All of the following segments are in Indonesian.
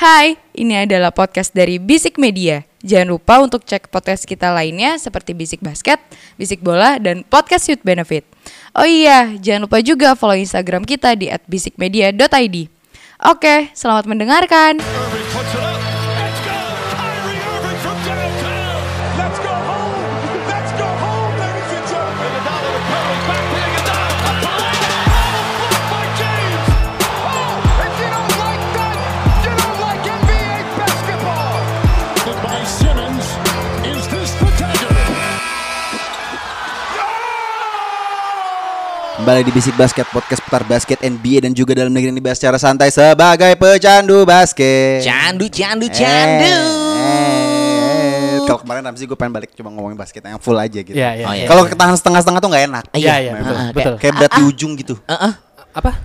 Hai, ini adalah podcast dari Bisik Media. Jangan lupa untuk cek podcast kita lainnya seperti Bisik Basket, Bisik Bola, dan Podcast Youth Benefit. Oh iya, jangan lupa juga follow Instagram kita di @bisikmedia.id. Oke, selamat mendengarkan. Kembali di Bisik Basket, podcast putar basket NBA dan juga dalam negeri ini dibahas secara santai sebagai pecandu basket. Candu. Kalau kemarin Ramzi gue pengen balik cuma ngomongin basket yang full aja gitu. Iya. Kalau ketahan setengah-setengah tuh nggak enak. Iya, betul. Kayak berat di ujung gitu. Apa?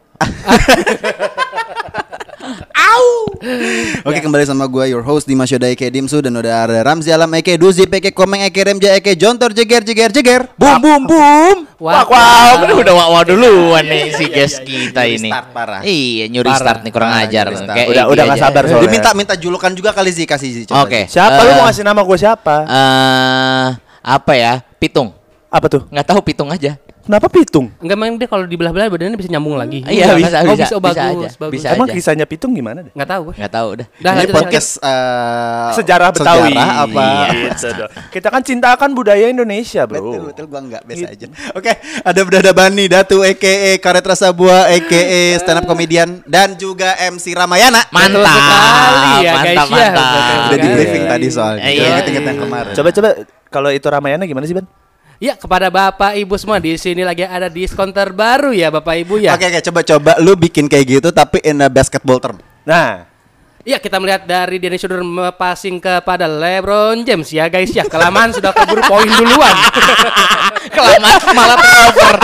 Oke, kembali sama gue your host Dimas Yoda Eke Dimsu dan udah ada Ramzi Alam Eke Duzi Eke Komeng Eke Remja Eke Jontor Jeger. Boom. Wow, udah wow duluan nih si guys kita ini. Start parah. Iya, nyuri start nih kurang ajar. Kayak Udah nggak sabar soalnya. Minta julukan juga kali sih, kasih sih. Oke. Siapa lu mau ngasih nama gue siapa? Apa ya? Pitung. Apa tuh? Nggak tahu pitung aja. Kenapa pitung? Enggak, emang dia kalau dibelah-belah badannya bisa nyambung lagi. Iya, bisa bagus. aja. Bagus. Bisa Emang aja. kisahnya pitung gimana deh? Enggak tahu gue. Nggak tahu udah. Dah, Ini lanjut, podcast Sejarah Betawi. Sejarah apa? Gitu dong. Kita kan cintakan budaya Indonesia, bro. Betul gua enggak biasa aja. Oke, ada Brada Bani, Datu EKE Karet Rasa Buah EKE stand up comedian dan juga MC Ramayana. Betul sekali ya, guys, ya. Mantap. Udah di briefing tadi soalnya. Iya. Ingat yang kemarin. Coba kalau itu Ramayana gimana sih, Ban? Ya, kepada Bapak Ibu semua di sini lagi ada diskon terbaru ya Bapak Ibu ya. Oke, coba lu bikin kayak gitu tapi in a basketball term. Nah, Ya, kita melihat dari Dennis Schroeder passing kepada LeBron James ya guys ya. Kelamaan sudah keburu poin duluan. Kelamaan malah turnover.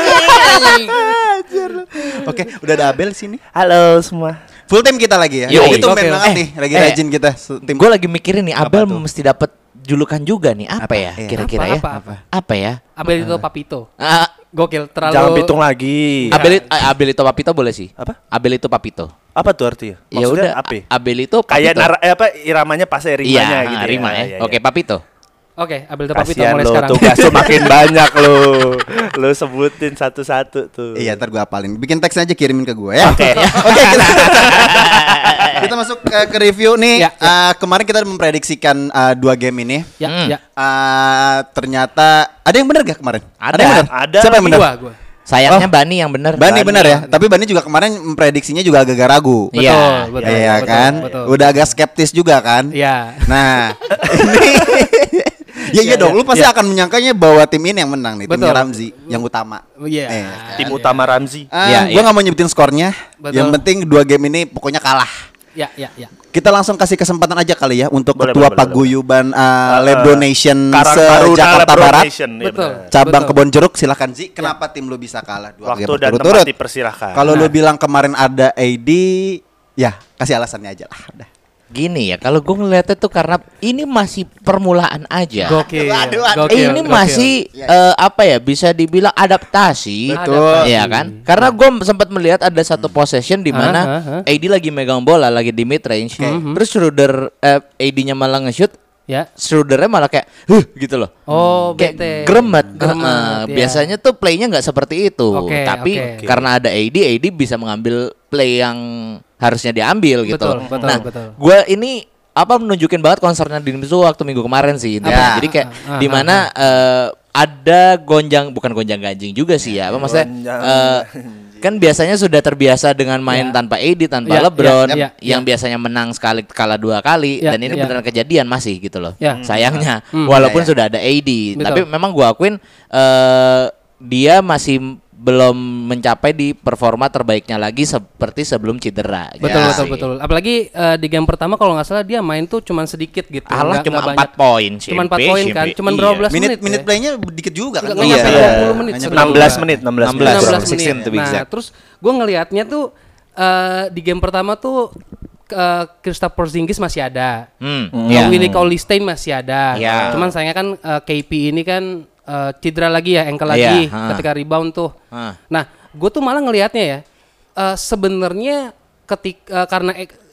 Oke, udah ada Abel sini. halo semua. Full tim kita lagi ya. Yoi. Itu Oke. banget nih, lagi rajin kita tim. Gue lagi mikirin nih, Apa Abel tuh? mesti dapat julukan juga nih. Apa ya? Iya. Kira-kira ya? Apa ya? Abel itu Papito. Ah, Gokil, terlalu. Jangan pitung lagi. Abel itu Papito boleh sih. Apa? Abel itu Papito. Apa tuh artinya? Ya Maksudnya udah. apa? Abel itu Kayak Papito. iramanya pas rimanya Iya, gitu. rima ya. Iya. Oke, Papito. Oke, Abel itu Papito Kasian mulai lo, sekarang. tugas lu makin banyak lu. Lu sebutin satu-satu tuh. Iya, ntar gue apalin. Bikin teksnya aja kirimin ke gue ya. Oke. Oke, kita masuk ke review nih. Ya, ya. Kemarin kita memprediksikan 2 game ini. Ya. Ternyata ada yang benar gak kemarin? Ada. yang benar? Ada. Siapa yang benar? Gua. Sayangnya Bani yang bener. Bani benar ya. Tapi Bani juga kemarin memprediksinya juga agak ragu. Iya. Betul. Iya kan? betul. Udah agak skeptis juga kan? Iya. Nah, ini iya dong. Lu pasti akan menyangkanya bahwa tim ini yang menang nih, timnya Betul. Ramzi yang utama. Iya. Tim utama Ramzi. Iya, Gue iya. nggak mau nyebutin skornya. Betul. Yang penting 2 game ini pokoknya kalah. Ya. Kita langsung kasih kesempatan aja kali ya untuk Boleh, ketua boleh, paguyuban Lab Donation Karang Taruna Jakarta Lebron Barat, Nation, iya Betul. benar. cabang Betul. Kebon Jeruk. Silakan Zi, kenapa tim lu bisa kalah 2 game Waktu dan berturut-turut? tempat dipersilahkan. Kalau lu bilang kemarin ada AD, ya kasih alasannya aja lah. Udah. Gini ya, kalau gue ngeliatnya tuh karena ini masih permulaan aja. Gokil. Aduh. Ini masih apa ya, bisa dibilang adaptasi. Betul. Iya kan? Karena gue sempat melihat ada satu possession di mana AD lagi megang bola lagi di mid range. Terus Schroeder AD-nya malah nge-shoot, Ya. Schroedernya malah kayak gitu loh. Oh, Kayak bete. gremet. Gremet, iya. Biasanya tuh playnya nggak seperti itu. Oke, Tapi oke. karena ada AD bisa mengambil play yang harusnya diambil gitu. Betul, loh. betul, Nah, betul. gue ini nunjukin banget konsernya di itu waktu minggu kemarin sih. Ya. Jadi kayak di mana ada bukan gonjang ganjing juga sih ya. Apa maksudnya? Kan biasanya sudah terbiasa dengan main tanpa AD, tanpa Ya, LeBron, ya, yang biasanya menang sekali kalah 2 kali, Ya, dan ini ya. beneran kejadian masih gitu loh. Ya. Sayangnya, walaupun sudah ada AD, Betul. tapi memang gua akuin dia masih belum mencapai di performa terbaiknya lagi seperti sebelum cedera. Betul. Apalagi di game pertama kalau nggak salah dia main tuh cuman sedikit gitu. Alah, Nggak cuma banyak. 4 poin sih. Cuman 4 poin kan, cuman berapa belas menit. Minute ya. playnya dikit juga kan? Nggak nyampe 20 menit. Hanya 16 menit, 16 menit. 16 menit. 16 to be Nah, exact. terus gue ngelihatnya tuh di game pertama tuh Kristaps Porzingis masih ada. Iya. Willie Cauley-Stein masih ada. Iya. Cuman sayangnya kan KP ini kan cedera lagi ya, ankle lagi Iya, ketika rebound tuh. Ah. Nah, gue tuh malah ngelihatnya ya sebenarnya ketika karena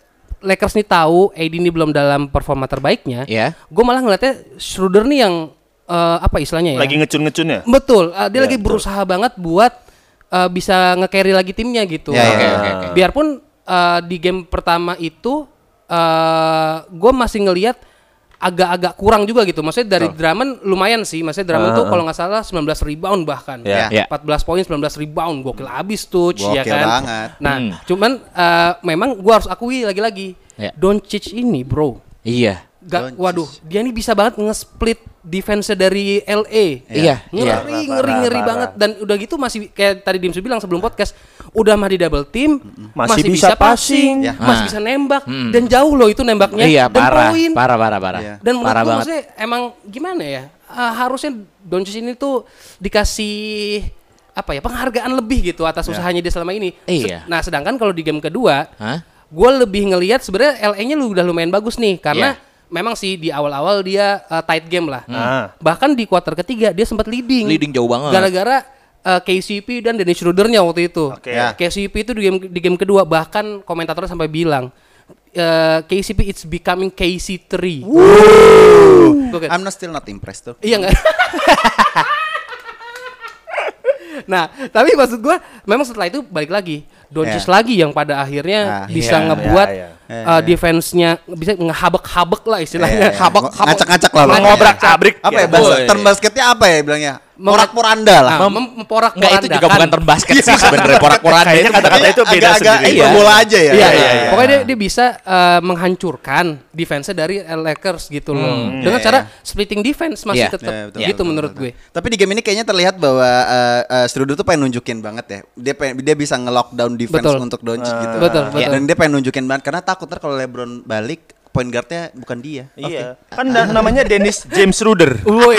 Lakers nih tahu AD ini belum dalam performa terbaiknya, Ya. gue malah ngeliatnya Schroeder nih yang apa istilahnya ya? Lagi ngecun-ngecun ya? Betul, dia lagi betul. berusaha banget buat bisa nge-carry lagi timnya gitu. Ya, ya, Oke. Biarpun di game pertama itu gue masih ngelihat agak-agak kurang juga gitu. Maksudnya dari Drummond lumayan sih. Maksudnya Drummond tuh kalau nggak salah 19 rebound bahkan. Ya. Ya. 14 poin, 19 rebound. Gokil abis tuh, ya Gokil kan. banget. Nah, cuman memang gue harus akui lagi-lagi. Ya. Doncic ini, bro. Iya. Waduh, dia ini bisa banget nge-split defense dari LA. Iya. Ngeri Parah. banget. Dan udah gitu masih kayak tadi Dimsu bilang sebelum podcast, udah mah di double team, Masih bisa passing. Ya. masih bisa nembak dan jauh loh itu nembaknya. Iya, dan parah. poin. Parah. Iya. Dan menurut Parah gue banget. maksudnya emang gimana ya? Harusnya Doncic ini tuh dikasih apa ya, penghargaan lebih gitu atas usahanya dia selama ini. Iya. Nah, sedangkan kalau di game kedua, Hah? gue lebih ngelihat sebenarnya LA-nya udah lumayan bagus nih karena memang sih di awal-awal dia tight game lah. Bahkan di kuarter ketiga dia sempat leading. Leading jauh banget. Gara-gara KCP dan Dennis Schroeder-nya waktu itu. Oke. Ya. KCP itu di game kedua bahkan komentatornya sampai bilang KCP it's becoming KC3. Gokil. I'm still not impressed tuh. Iya nggak? Nah, tapi maksud gue memang setelah itu balik lagi Doncic lagi yang pada akhirnya bisa ngebuat defense-nya bisa ngehabek-habek lah istilahnya. Ngacak-ngacak lah. Ngobrak-abrik. Apa ya bahasa term basketnya apa ya bilangnya? Porak-poranda lah. Memporak-porandakan. Enggak, itu juga bukan term basket sih sebenarnya. Porak-poranda Kayaknya itu kata-kata itu beda Agak-agak sendiri. itu bola aja ya. Iya. iya. Pokoknya dia bisa menghancurkan defense dari Lakers gitu loh. Dengan cara splitting defense masih Iya. tetap Iya, betul, gitu betul, menurut betul. gue. Tapi di game ini kayaknya terlihat bahwa Schroeder tuh pengen nunjukin banget ya. Dia bisa nge-lockdown defense Betul. untuk Doncic gitu. Betul. Dan dia pengen nunjukin banget karena takut ntar kalau LeBron balik point guardnya bukan dia. Iya. Kan namanya Dennis James Schroeder. Woi.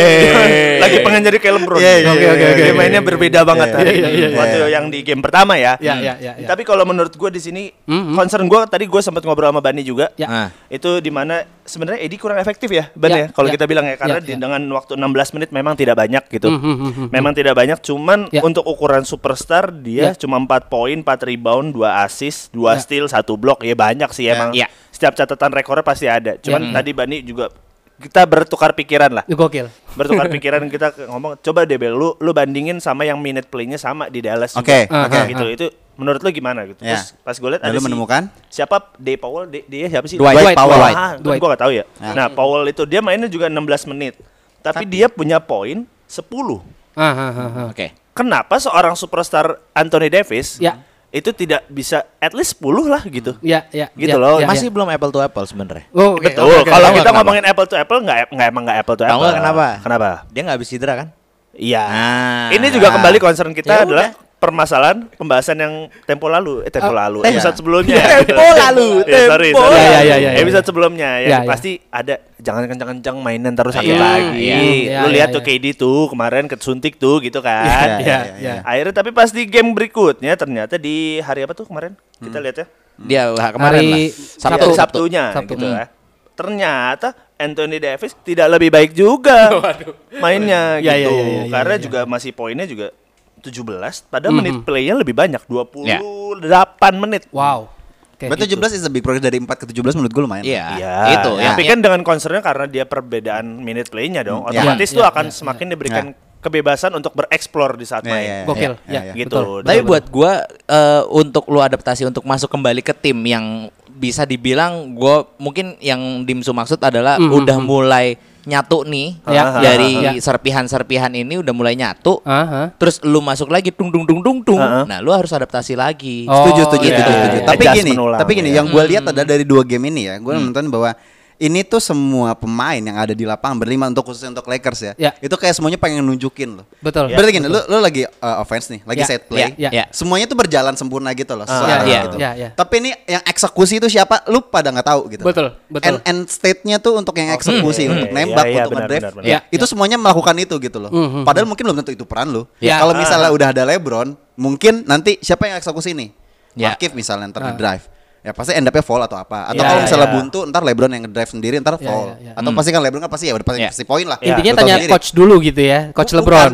Lagi pengen jadi kayak LeBron. Iya, iya, iya, iya, Dia mainnya berbeda banget Iya, tadi. iya, iya, Waktu yang di game pertama ya. Iya. Tapi kalau menurut gue di sini concern gue tadi gue sempat ngobrol sama Bani juga. Ya. Itu di mana sebenarnya Edi kurang efektif ya, Ban Ya, ya. Kalau ya. kita bilang ya karena Ya. dengan waktu 16 menit memang tidak banyak gitu. Memang tidak banyak, cuman Ya. untuk ukuran superstar dia Ya. cuma 4 poin, 4 rebound, 2 assist, 2 Ya. steal, 1 block. Ya banyak sih Ya. emang. Ya. Setiap catatan rekornya pasti ada. Cuman tadi Bani juga kita bertukar pikiran lah. Gokil. Bertukar pikiran kita ngomong coba deh Bel, lu bandingin sama yang minute play-nya sama di Dallas juga. Oke, oke. Gitu. Itu menurut lu gimana gitu. Ya. Terus pas gue lihat Lalu ada menemukan? siapa Day Powell, dia siapa sih? Dwight Powell. Gue gak tahu ya. Nah, Powell itu dia mainnya juga 16 menit. Tapi dia punya poin 10. Oke. Kenapa seorang superstar Anthony Davis Ya. itu tidak bisa at least 10 lah gitu. Ya. Gitu loh. Masih belum apple to apple sebenarnya. Oh, oke, Betul. oke, oke. Kalau Tahu kita nggak ngomongin apple to apple emang nggak apple to Tahu apple. nggak kenapa? Kenapa? Dia nggak habis cedera kan? Iya. Nah. Ini juga kembali concern kita Ya adalah udah. permasalahan pembahasan yang tempo lalu, Iya. episode sebelumnya. Tempo lalu, Ya, sorry. tempo. Ya. Episode sebelumnya Ya, yang ya. pasti ada jangan kencang-kencang mainan terus sakit Iya, lagi. iya. Lu Iya, lihat iya, tuh KD tuh kemarin kesuntik tuh gitu kan. Iya. Akhirnya tapi pas di game berikutnya ternyata di hari apa tuh kemarin? Kita lihat ya. Dia kemarin Hari lah. Sabtu. Sabtu. Sabtunya Sabtu. gitu ya. Ternyata Anthony Davis tidak lebih baik juga mainnya Ya, gitu. ya, Karena ya. juga masih poinnya juga 17 padahal menit play-nya lebih banyak 28 Ya. menit. Wow. Kayak Berarti gitu. 17 is a big progress dari 4 ke 17 menurut gue lumayan. Iya. Iya, Itu. Tapi kan dengan concernnya karena dia perbedaan minute play-nya dong, otomatis tuh akan semakin diberikan kebebasan untuk bereksplor di saat Iya, main. iya, Gokil. iya, Ya, iya. Gitu. betul. Tapi buat gua untuk lu adaptasi untuk masuk kembali ke tim yang bisa dibilang gua mungkin yang Dimsu maksud adalah udah mulai nyatu nih Ya. dari Ya. serpihan-serpihan ini udah mulai nyatu. Aha. Terus lu masuk lagi dung. Nah, lu harus adaptasi lagi. Oh, Setuju. iya. Tapi gini, Adjustment ulang, yang gue lihat ada dari 2 game ini ya, gue nonton bahwa ini tuh semua pemain yang ada di lapangan berlima khususnya untuk Lakers ya, Ya. itu kayak semuanya pengen nunjukin loh. Betul. Berarti gini, lu lagi offense nih, lagi Ya, set play, ya. semuanya tuh berjalan sempurna gitu loh, sesuai Ya, arah ya, gitu. ya. Tapi ini yang eksekusi itu siapa? Lu pada nggak tahu gitu. Betul. End state-nya tuh untuk yang eksekusi, untuk nembak, Iya, untuk benar, ngedrive, benar, benar. itu semuanya melakukan itu gitu loh. Padahal mungkin belum tentu itu peran lu. Ya. Kalau misalnya udah ada LeBron, mungkin nanti siapa yang eksekusi nih? Ya. Markieff misalnya ntar di drive. ya pasti end up-nya fall atau apa. Atau Iya, kalau misalnya iya. buntu ntar LeBron yang ngedrive sendiri ntar fall. Atau pasti kan LeBron kan pasti ya udah pasti poin lah. Iya. Intinya Lu tahu tanya sendiri. coach dulu gitu ya, coach LeBron.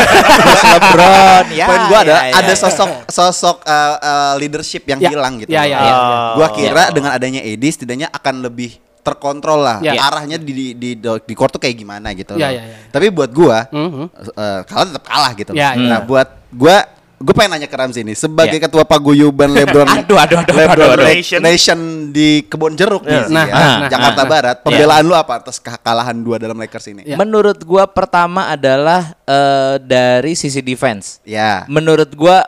LeBron ya. Poin gua adalah ya, ada ya. sosok leadership yang Ya. hilang gitu. Ya, loh. ya, ya. Gua kira dengan adanya AD setidaknya akan lebih terkontrol lah Ya. arahnya di court tuh kayak gimana gitu Ya, loh. ya, ya. Tapi buat gua Mhm. kalah tetap kalah gitu. Ya, Nah, ya. buat gue pengen nanya ke Ramzi nih sebagai Ya. ketua paguyuban LeBron Aduh. Nation di Kebon Jeruk nih Nah, ya, nah, Jakarta Barat. Pembelaan lu apa atas kekalahan 2 dalam Lakers ini? Ya. Menurut gua pertama adalah dari sisi defense. Ya. Menurut gua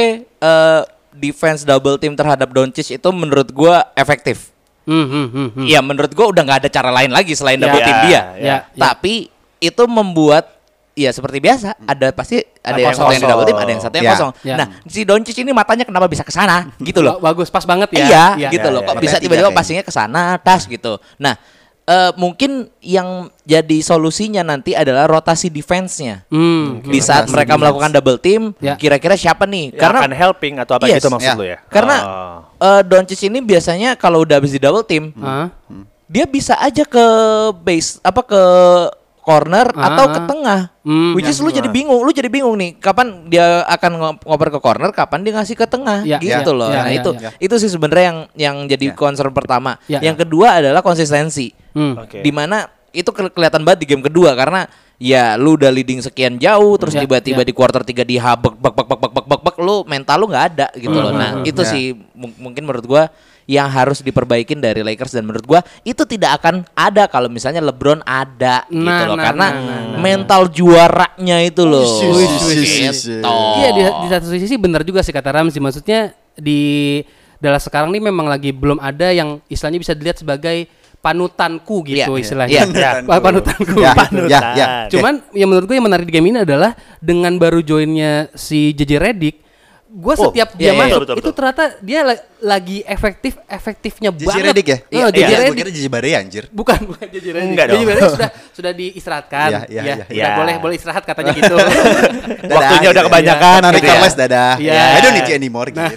defense double team terhadap Doncic itu menurut gua efektif. Iya, menurut gua udah nggak ada cara lain lagi selain double Ya, team dia. ya. Tapi itu membuat ya seperti biasa pasti ada yang satu yang di double team, ada yang satu yang Ya. kosong. Ya. Nah, si Doncic ini matanya kenapa bisa ke sana gitu loh. Bagus, pas banget ya. Iya, gitu loh. Kok ya. bisa Berarti tiba-tiba tiga passingnya ke sana, tas gitu. Nah, mungkin yang jadi solusinya nanti adalah rotasi defense-nya. Di saat Rotasi mereka defense. melakukan double team, Ya. kira-kira siapa nih? Ya, Karena akan helping atau apa Yes. gitu maksud Ya. lu ya? karena Oh. Doncic ini biasanya kalau udah habis di double team, Hah? dia bisa aja ke base ke corner atau ke tengah. Which is lu jadi bingung nih kapan dia akan ngoper ke corner, kapan dia ngasih ke tengah Ya, gitu ya, loh. ya, Nah, ya, itu ya. itu sih sebenarnya yang jadi concern pertama. Ya. Yang kedua adalah konsistensi. Oke. Dimana itu kelihatan banget di game kedua karena ya lu udah leading sekian jauh terus Ya, tiba-tiba ya. di quarter 3 dihabek bak lu mental lu nggak ada gitu loh. Nah, itu Ya. sih mungkin menurut gua yang harus diperbaikin dari Lakers dan menurut gua itu tidak akan ada kalau misalnya LeBron ada gitu Nah, loh nah, karena nah. mental juaranya itu loh. Wih. Gitu. Iya, di satu sisi benar juga sih kata Ramzi. Maksudnya di Dallas sekarang ini memang lagi belum ada yang istilahnya bisa dilihat sebagai panutanku gitu Iya, istilahnya. iya. Panutanku. Ya, gitu. ya, ya. Cuman yang menurut gue yang menarik di game ini adalah dengan baru joinnya si JJ Redick, gue setiap dia iya, iya, masuk betul, itu ternyata dia lagi efektifnya JJ banget. Redick ya? JJ Iya, gue Redick. kira JJ Barea anjir. Bukan JJ Redick. Enggak JJ dong. Redick sudah diistirahatkan. Iya, iya, Ya, iya. udah boleh istirahat katanya gitu. Waktunya udah kebanyakan Tarik gitu ya. les dadah. Iya. I don't need you anymore gitu.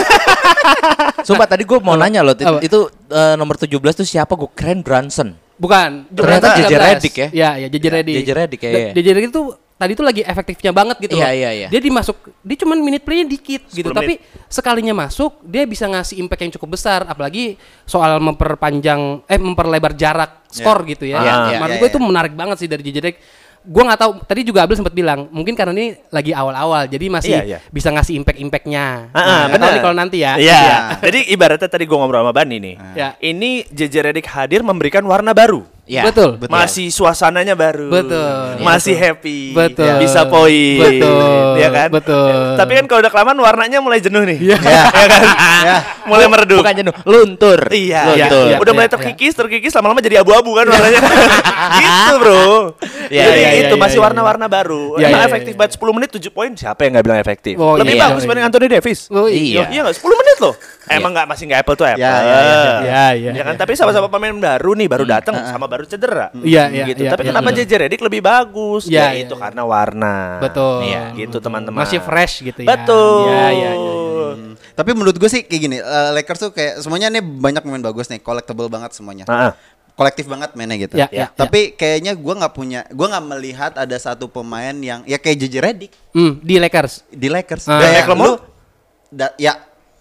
Sumpah tadi gue mau nanya loh Apa? itu nomor 17 tuh siapa? Gue keren Brunson. Bukan. Ternyata Brunson JJ 13. Redick ya? Iya, JJ Redick. JJ Redick ya, iya. JJ Redick itu tadi itu lagi efektifnya banget gitu Iya, loh. iya, iya. Dia dia cuman minute play-nya dikit gitu, 10 tapi sekalinya masuk dia bisa ngasih impact yang cukup besar apalagi soal memperlebar jarak skor gitu ya. Iya, iya, Menurut iya, gue iya. itu menarik banget sih dari JJ Redick. Gue nggak tahu, tadi juga Abel sempat bilang mungkin karena ini lagi awal-awal jadi masih Iya, iya. bisa ngasih impact-impactnya. benar. Nggak tahu nih kalau nanti ya. Iya. Jadi ibaratnya tadi gua ngobrol sama Bani nih. Ya. Ini JJ Redick hadir memberikan warna baru. Ya. Betul. Masih suasananya baru. Betul. Masih happy. Betul. Bisa poin. Betul. Iya kan? Betul. Tapi kan kalau udah kelamaan warnanya mulai jenuh nih. Iya Ya. kan? Mulai meredup. Bukan jenuh, luntur. Iya, Luntur. iya. udah mulai terkikis lama-lama jadi abu-abu kan warnanya. Gitu, Bro. Iya, Jadi iya, itu iya, masih iya, warna-warna baru. Iya, Emang iya, efektif iya. banget 10 menit 7 poin. Siapa yang enggak bilang efektif? Oh, Lebih iya, bagus iya. dibanding Anthony Davis. Oh, iya. Iya enggak? 10 menit loh. Emang masih enggak apple to apple. Ya, ya, ya, ya. Ya kan, tapi sama-sama pemain baru nih, baru datang sama baru cedera. Iya, iya, Gitu. iya, Tapi iya, kenapa iya. JJ Redick lebih bagus? Iya, Ya iya, itu iya. karena warna. Betul. Iya, gitu teman-teman. Masih fresh gitu ya. Betul. Iya, iya, iya. Tapi menurut gue sih kayak gini, Lakers tuh kayak semuanya nih banyak pemain bagus nih, collectible banget semuanya. Kolektif banget mainnya gitu. Ya, ya, Tapi kayaknya gue nggak melihat ada satu pemain yang ya kayak JJ Redick Di Lakers. di Lakers. Ah. Kayak McLemore? ya.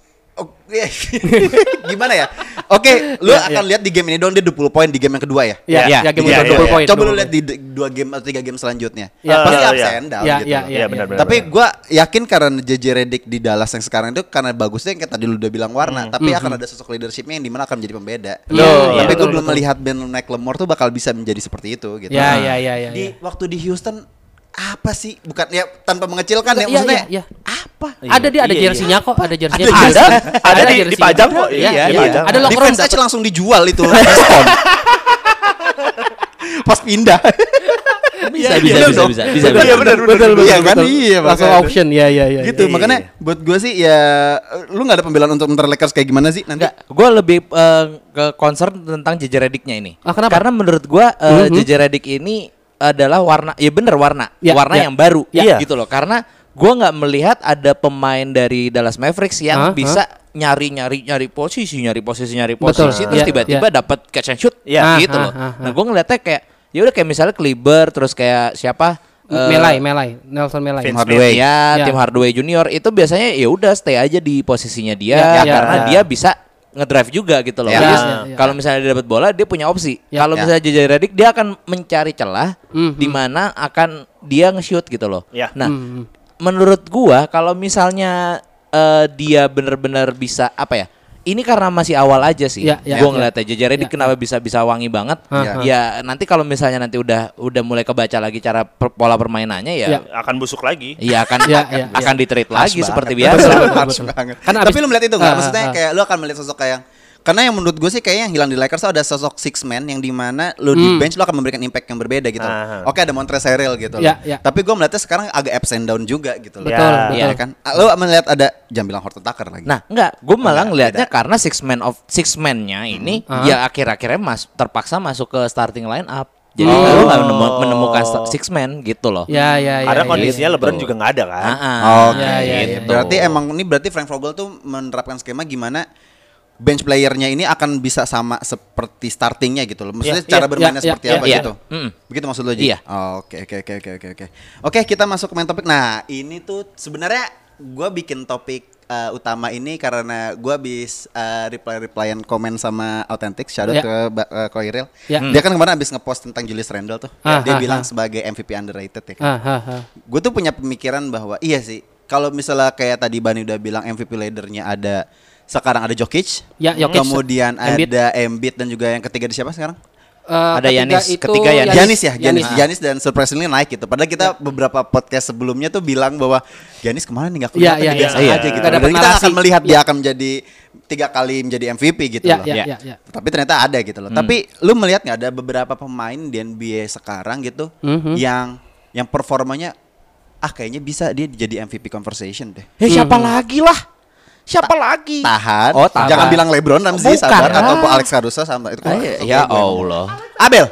Gimana ya? Oke, lu akan lihat di game ini doang dia 20 poin di game yang kedua ya. Iya, Iya, ya game iya, udah iya, 20 iya. poin. Coba lu 20 lihat di 2 game atau 3 game selanjutnya. Ya. Pasti Iya, ups iya. and down Iya, gitu. iya, loh. Iya, benar-benar. Tapi gue yakin karena JJ Redick di Dallas yang sekarang itu karena bagusnya yang kayak tadi lu udah bilang warna, tapi akan ada sosok leadershipnya yang dimana akan menjadi pembeda. Iya, Tapi iya, gue betul, belum betul. melihat Ben McLemore tuh bakal bisa menjadi seperti itu gitu. Ya, ya, ya, ya. Di waktu di Houston apa sih? Bukan ya tanpa mengecilkan ya Iya, maksudnya. iya, iya. Apa? Ada dia, ada Iya, jersey-nya kok, ada jersey-nya. Ada di jersey-nya. dipajang kok. Iya, Iya, iya. dipajang. Ada locker room Defense aja dapet. langsung dijual itu diskon. Pas pindah. Bisa. Iya, benar, betul, iya kan? Iya, Langsung makanya. auction, ya, ya, ya. Gitu, Iya. makanya buat gue sih ya lu nggak ada pembelaan untuk ntar Lakers kayak gimana sih nanti? Enggak, gue lebih ke concern tentang JJ Redick-nya ini. Ah, kenapa? Karena menurut gue JJ Redick ini adalah warna, ya bener warna Ya, warna ya. yang baru, Ya. gitu loh. Karena Gue nggak melihat ada pemain dari Dallas Mavericks yang bisa nyari posisi terus tiba-tiba dapat catch and shoot gitu loh. Nah gue ngeliatnya kayak ya udah kayak misalnya Kleber terus kayak siapa Nelson Melai, Tim Hardaway Tim Hardaway Junior itu biasanya ya udah stay aja di posisinya dia karena dia bisa ngedrive juga gitu loh. Kalau misalnya dia dapat bola dia punya opsi. Kalau misalnya JJ Redick dia akan mencari celah di mana akan dia nge-shoot gitu loh. Nah, menurut gua kalau misalnya dia benar-benar bisa apa ya? Ini karena masih awal aja sih. Gua ngeliatnya JJ Redick kenapa bisa wangi banget. Ya nanti kalau misalnya nanti udah mulai kebaca lagi cara pola permainannya ya akan busuk lagi. Iya akan di-treat lagi seperti biasa. Tapi lu melihat itu enggak? Maksudnya kayak lu akan melihat sosok kayak karena yang menurut gue sih kayaknya yang hilang di Lakers ada sosok six man yang dimana lu di bench lu akan memberikan impact yang berbeda gitu. Oke ada Montrezl Harrell gitu loh. Tapi gue melihatnya sekarang agak ups and down juga gitu loh. Betul. Ya kan? Lu melihat ada jangan bilang Horton Tucker lagi. Nah, enggak, gue malah ngelihatnya karena six man-nya ini ya akhir-akhirnya terpaksa masuk ke starting line up. Jadi lu nggak menemukan six man gitu loh. Karena kondisinya LeBron juga nggak ada kan. Gitu. Berarti Frank Vogel tuh menerapkan skema gimana bench playernya ini akan bisa sama seperti startingnya gitu loh. Maksudnya cara bermainnya seperti apa gitu. Begitu maksud lo Ji? Iya. Oke. Oke, kita masuk ke main topik. Nah, ini tuh sebenarnya gue bikin topik utama ini karena gue habis replyan komen sama Authentic, shout out ke Koiril. Dia kan kemarin habis ngepost tentang Julius Randle tuh. Dia bilang sebagai MVP underrated ya kan. Gue tuh punya pemikiran bahwa iya sih, kalau misalnya kayak tadi Bani udah bilang MVP leadernya ada sekarang ada Jokic, kemudian ada Embiid dan juga yang ketiga di siapa sekarang? Ada Giannis, ketiga Giannis dan surprisingly naik gitu. Padahal kita beberapa podcast sebelumnya tuh bilang bahwa Giannis kemarin nggak kelihatan biasa aja gitu. Dan kita akan melihat dia akan menjadi 3 kali menjadi MVP gitu loh. Tapi ternyata ada gitu loh. Tapi lu melihat nggak ada beberapa pemain di NBA sekarang gitu yang performanya kayaknya bisa dia jadi MVP conversation deh. Siapa lagi lah? Siapa lagi? Tahan. Jangan bilang LeBron Ramsey sabar atau Alex Caruso sama itu. Ya Allah. Abel.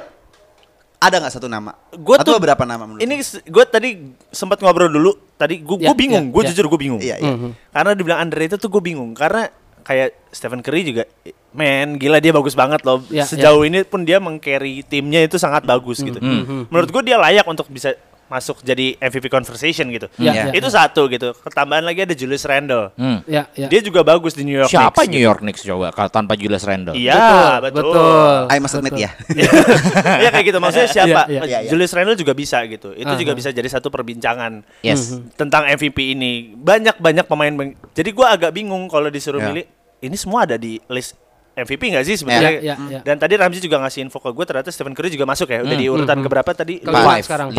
Ada nggak satu nama? Atau beberapa nama menurut? Ini gue tadi sempat ngobrol dulu. Tadi gue bingung. Gue jujur gue bingung. Karena dibilang underrated tuh gue bingung. Karena kayak Stephen Curry juga, gila dia bagus banget loh. Sejauh ini pun dia meng-carry timnya itu sangat bagus gitu. Menurut gue dia layak untuk bisa masuk jadi MVP conversation gitu. Itu satu gitu. Ketambahan lagi ada Julius Randle. Dia juga bagus di New York Knicks. Siapa New York Knicks coba kalau tanpa Julius Randle? Iya, betul. I must admit ya. Iya kayak gitu. Maksudnya siapa? Julius Randle juga bisa gitu. Itu juga bisa jadi satu perbincangan tentang MVP ini. Banyak pemain. Jadi gua agak bingung kalau disuruh milih. Ini semua ada di list MVP nggak sih sebenarnya? Dan tadi Ramzi juga ngasih info ke gue, ternyata Stephen Curry juga masuk ya. Udah di urutan keberapa tadi? Sekarang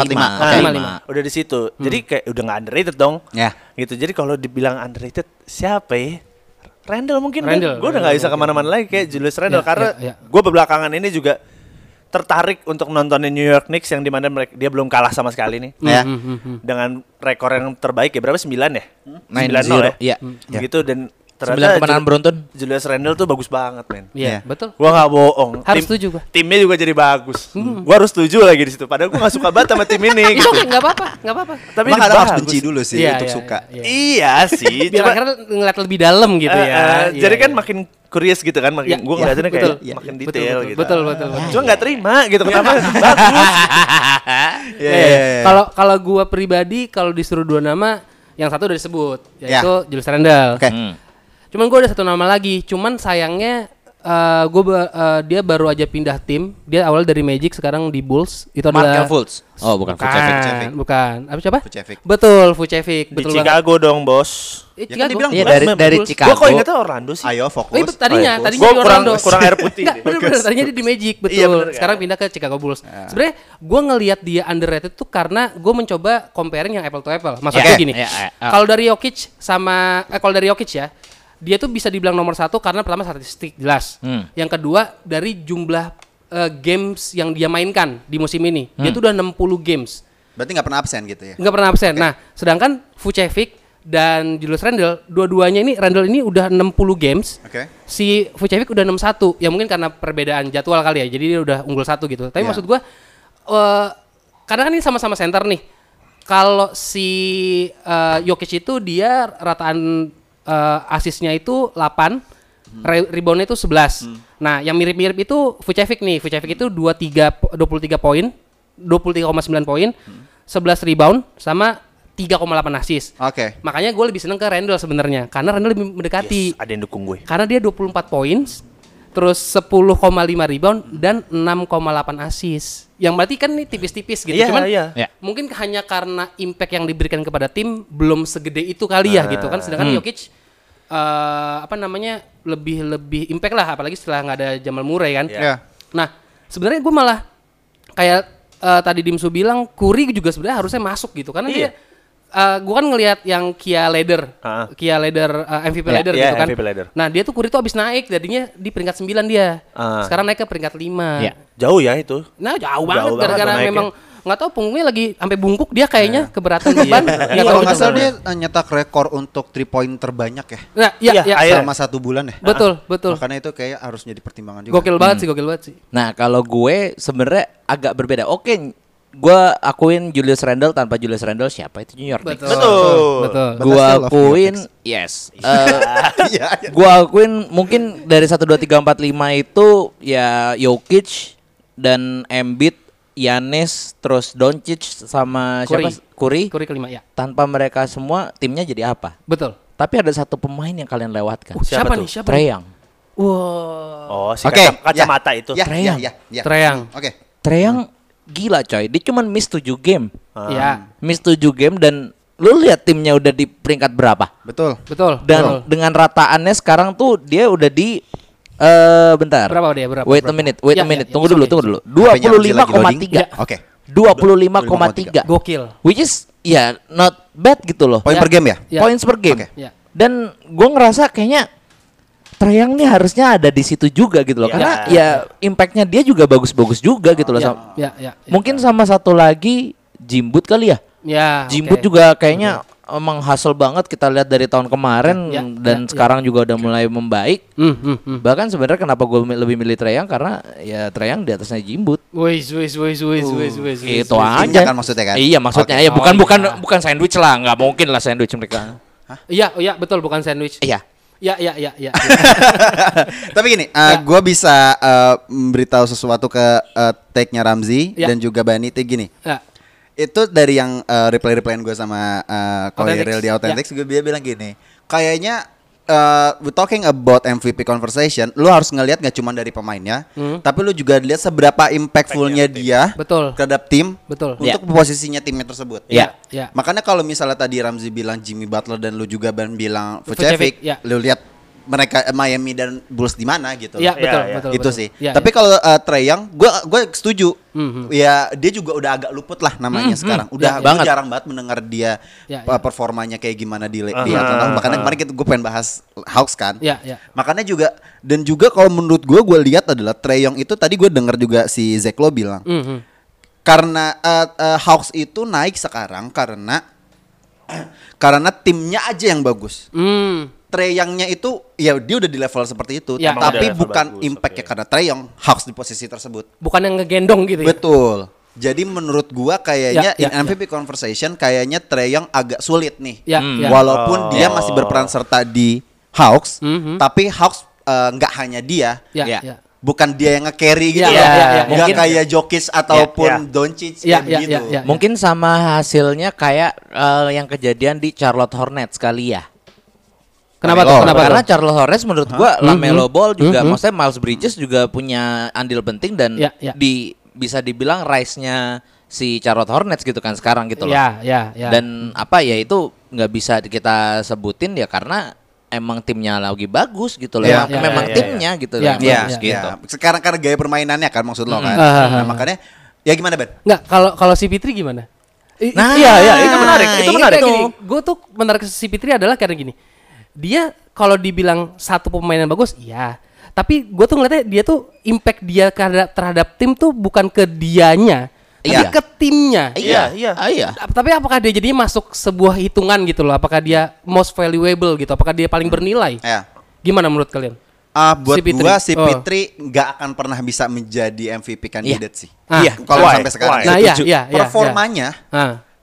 5. Udah di situ. Jadi kayak udah nggak underrated dong. Gitu. Jadi kalau dibilang underrated siapa ya? Randle mungkin. Gue udah nggak bisa kemana-mana lagi kayak Julius Randle karena gue belakangan ini juga tertarik untuk nontonin New York Knicks yang dimana dia belum kalah sama sekali nih. Dengan rekor yang terbaik ya berapa 9 ya? 9-0 ya. Gitu dan ternyata 9 kemenangan beruntun. Julius Randle tuh bagus banget, men. Iya, betul. Gua nggak bohong. Harus setuju gua. Timnya juga jadi bagus. Gua harus setuju lagi di situ. Padahal gua nggak suka banget sama tim ini. Itu nggak apa-apa. Tapi kadang harus benci dulu sih untuk suka. Iya sih. Biar akhirnya ngeliat lebih dalam gitu ya. Jadi kan makin curious gitu kan, makin gua ngeliatinnya kayak makin detail gitu. Betul. Cuma nggak terima gitu kenapa bagus. Kalau gua pribadi kalau disuruh 2 nama, yang satu udah disebut yaitu Julius Randle. Cuman gue ada satu nama lagi, cuman sayangnya dia baru aja pindah tim. Dia awal dari Magic, sekarang di Bulls. Itu adalah Markel Fultz. Oh, bukan Vucevic. Bukan. Apa siapa? Vucevic. Betul, Vucevic. Di Chicago dong, bos. Chicago. Iya, dari Chicago. Gua kok ingatnya Orlando sih. Ayo fokus. Tadinya Gua di Orlando. kurang air putih. Bener, tadinya dia di Magic, betul. Iya, bener, sekarang pindah ke Chicago Bulls. Sebenarnya gue ngelihat dia underrated tuh karena gue mencoba comparing yang apple to apple. Maksudnya gini, kalau dari Jokic kalau dari Jokic ya, dia tuh bisa dibilang nomor 1 karena pertama statistik jelas. Yang kedua dari jumlah games yang dia mainkan di musim ini. Dia tuh udah 60 games. Berarti nggak pernah absen gitu ya? Nggak pernah absen. Nah, sedangkan Vucevic dan Julius Randle, dua-duanya ini Randle ini udah 60 games. Si Vucevic udah 61. Ya mungkin karena perbedaan jadwal kali ya. Jadi dia udah unggul 1 gitu. Tapi maksud gua karena kan ini sama-sama center nih. Kalau si Jokic itu dia rataan asisnya itu 8, reboundnya itu 11. Nah, yang mirip-mirip itu Vucevic nih. Vucevic itu 23 poin, 23,9 poin, 11 rebound sama 3,8 assist. Oke. Makanya gue lebih seneng ke Randle sebenarnya, karena Randle lebih mendekati. Yes, ada yang dukung gue. Karena dia 24 poin, terus 10,5 rebound dan 6,8 assist. Yang berarti kan ini tipis-tipis gitu. Cuman mungkin hanya karena impact yang diberikan kepada tim belum segede itu kali ya gitu kan. Sedangkan Jokic lebih impact lah, apalagi setelah nggak ada Jamal Murray kan. Nah, sebenarnya gue malah kayak tadi Dimsu bilang Curry juga sebenarnya harusnya masuk gitu karena dia gue kan ngelihat yang Kia Leader MVP Leader gitu kan. Nah, dia tuh Curry tuh abis naik jadinya di peringkat 9 dia. Sekarang naik ke peringkat 5. Jauh ya itu. Nah, jauh banget gara-gara memang nggak tahu punggungnya lagi sampai bungkuk dia kayaknya keberatan beban. Kalau nggak salah dia nyetak rekor untuk 3 point terbanyak ya. Nah, selama 1 bulan ya. Betul. Makanya itu kayak harus jadi pertimbangan juga. Gokil banget sih. Nah, kalau gue sebenarnya agak berbeda. Oke, gue akuin Julius Randle, tanpa Julius Randle siapa itu New York Knicks. Betul. Gue akuin gue akuin mungkin dari 1 2 3 4 5 itu ya Jokic dan Embiid, Giannis, terus Doncic sama Curry kelima ya. Tanpa mereka semua timnya jadi apa? Betul. Tapi ada satu pemain yang kalian lewatkan. Siapa nih? Trae Young. Wow. Oh, si kacamata itu. Trae Young. Oke. Trae Young gila coy. Dia cuma miss 7 game. Iya. Miss 7 game dan lu lihat timnya udah di peringkat berapa? Betul. Dan dengan rataannya sekarang tuh dia udah di bentar. Berapa dia? Wait a minute. Tunggu dulu. 25,3. Oke. 25,3. Gokil. Which is not bad gitu loh. Poin per game ya? Points per game. Okay. Dan gue ngerasa kayaknya Trae Young nih harusnya ada di situ juga gitu loh. Karena impactnya dia juga bagus-bagus juga gitu loh. Mungkin sama satu lagi Jimbut kali ya. Jimbut juga kayaknya emang hasil banget kita lihat dari tahun kemarin dan sekarang juga udah mulai membaik. Bahkan sebenarnya kenapa gue lebih milih Trae Young karena ya Trae Young di atasnya Jimbut. Itu aja kan maksudnya kan? Iya maksudnya bukan sandwich lah, nggak mungkin lah sandwich mereka. Iya betul bukan sandwich. Iya. Ya. Tapi gini, gue bisa beritahu sesuatu ke take-nya Ramzi dan juga Bani itu gini. Itu dari yang reply-replyan gue sama Koiril di Authentics, gue bilang gini, kayaknya we talking about MVP conversation, lu harus ngelihat gak cuma dari pemainnya, tapi lu juga lihat seberapa impactfulnya dia terhadap tim untuk posisinya timnya tersebut. Makanya kalau misalnya tadi Ramzi bilang Jimmy Butler dan lu juga bilang Vucevic, lu lihat mereka Miami dan Bulls di mana gitu. Iya, betul. Itu sih. Tapi kalau Trae Young, gue setuju. Ya dia juga udah agak luput lah namanya sekarang. Udah jarang banget mendengar dia performanya kayak gimana di Atlanta. Makanya kemarin gue pengen bahas Hawks kan. Makanya juga dan juga kalau menurut gue lihat adalah Trae Young itu tadi gue dengar juga si Zach Lowe bilang. Karena Hawks itu naik sekarang karena timnya aja yang bagus. Trae Young-nya itu ya dia udah di level seperti itu, tapi bukan impact-nya karena Trae Young Hawks di posisi tersebut. Bukan yang ngegendong gitu ya. Betul. Jadi menurut gua kayaknya in MVP conversation kayaknya Trae Young agak sulit nih. Walaupun dia masih berperan serta di Hawks, tapi Hawks nggak hanya dia. Bukan dia yang nge-carry gitu nggak kayak Jokic ataupun Doncic gitu. Mungkin sama hasilnya kayak yang kejadian di Charlotte Hornets kali ya. Kenapa? Karena Charlotte Hornets menurut gua LaMelo Ball juga, maksudnya Miles Bridges juga punya andil penting dan bisa dibilang rise-nya si Charlotte Hornets gitu kan sekarang gitu loh. Dan itu nggak bisa kita sebutin ya karena emang timnya lagi bagus gitu loh. Memang timnya gitu loh. Gitu. Sekarang karena gaya permainannya kan maksud lo kan. Nah, makanya ya gimana Ben? Nggak, kalau si Fitri gimana? Itu menarik. Itu menarik. Gue tuh menarik si Fitri adalah karena gini. Dia kalau dibilang satu pemain yang bagus, iya. Tapi gue tuh ngeliatnya dia tuh impact dia terhadap tim tuh bukan ke dianya, tapi ke timnya. Iya. Tapi apakah dia jadinya masuk sebuah hitungan gitu loh? Apakah dia most valuable gitu? Apakah dia paling bernilai? Gimana menurut kalian? Buat gua si Fitri nggak akan pernah bisa menjadi MVP kandidat sih. Iya. Kalau sampai sekarang. Nah, performanya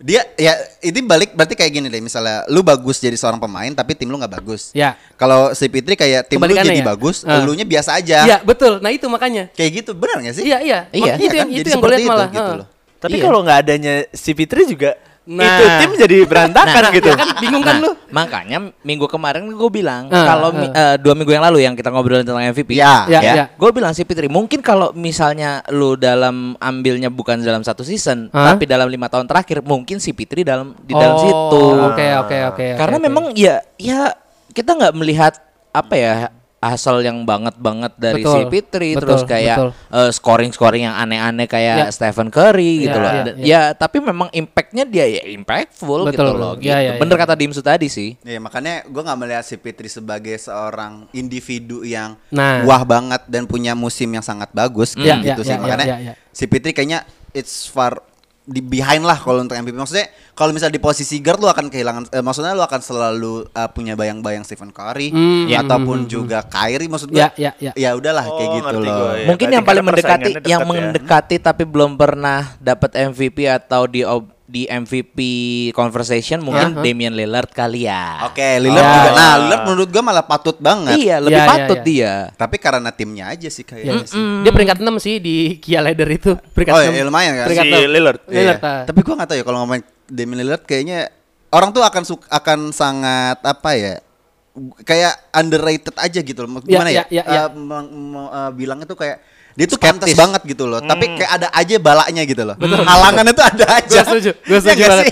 Dia ya ini balik berarti kayak gini deh, misalnya lu bagus jadi seorang pemain tapi tim lu nggak bagus. Ya. Kalau si Fitri kayak tim lu jadi bagus, elunya biasa aja. Iya, betul. Nah, itu makanya. Kayak gitu, benar gak sih? Iya. Itu yang gue lihat malah. Gitu loh. Tapi kalau nggak adanya si Fitri juga itu tim jadi berantakan gitu. Kan bingung kan lu? Makanya minggu kemarin gue bilang kalau 2 minggu yang lalu yang kita ngobrolin tentang MVP. Ya. Gue bilang si Fitri mungkin kalau misalnya lu dalam ambilnya bukan dalam 1 season, tapi dalam 5 tahun terakhir mungkin si Fitri di dalam situ. Oke. Karena memang ya kita nggak melihat apa ya asal yang banget dari si Fitri, terus kayak scoring yang aneh-aneh kayak Stephen Curry gitu loh. Ya tapi memang impactnya dia ya impactful gitu loh. Gitu. Bener kata Dimsu tadi sih. Iya makanya gue nggak melihat si Fitri sebagai seorang individu yang wah banget dan punya musim yang sangat bagus gitu sih. Makanya si Fitri kayaknya it's far di behind lah kalau untuk MVP. Maksudnya kalau misalnya di posisi guard lu akan kehilangan maksudnya lu akan selalu punya bayang-bayang Stephen Curry ataupun juga Kyrie, maksud gue ya udahlah kayak gitu loh. Mungkin yang paling mendekati tapi belum pernah dapat MVP atau di MVP conversation mungkin Damian Lillard kali ya. Oke, Lillard juga. Nah, Lillard menurut gue malah patut banget. Iya, lebih patut dia. Tapi karena timnya aja sih kayaknya sih. Dia peringkat 6 sih di Kia Ladder itu. Peringkat 6. Ya lumayan kan. Si Lillard. Tapi gue gak tahu ya kalau ngomongin Damian Lillard kayaknya orang tuh akan sangat apa ya? Kayak underrated aja gitu loh. Gimana ya? Bilangnya tuh kayak dia tuh pantas banget gitu loh, tapi kayak ada aja balaknya gitu loh. Halangannya tuh ada aja. Gue setuju banget.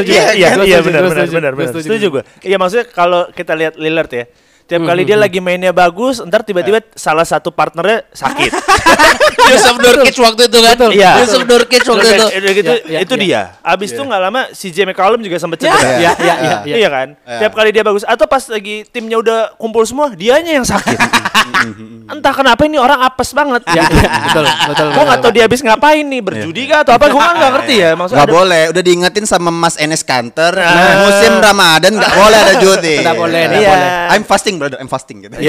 Iya benar. Setuju gue. Iya maksudnya kalau kita lihat Lillard ya, tiap kali dia lagi mainnya bagus, ntar tiba-tiba salah satu partnernya sakit. Yusuf Nurkic waktu itu kan? Iya. Yusuf Nurkic waktu itu. Itu dia. Abis itu nggak lama si CJ McCollum juga sempat cedera. Iya kan? Tiap kali dia bagus atau pas lagi timnya udah kumpul semua, dianya yang sakit. Entah kenapa ini orang apes banget. Betul. Gue nggak tahu dia habis ngapain nih, berjudi kah atau apa? Gue nggak ngerti ya. Maksudnya nggak boleh. Udah diingetin sama Mas Enes Kanter. Musim Ramadan nggak boleh ada judi. Nggak boleh. I'm fasting brother, I'm fasting gitu.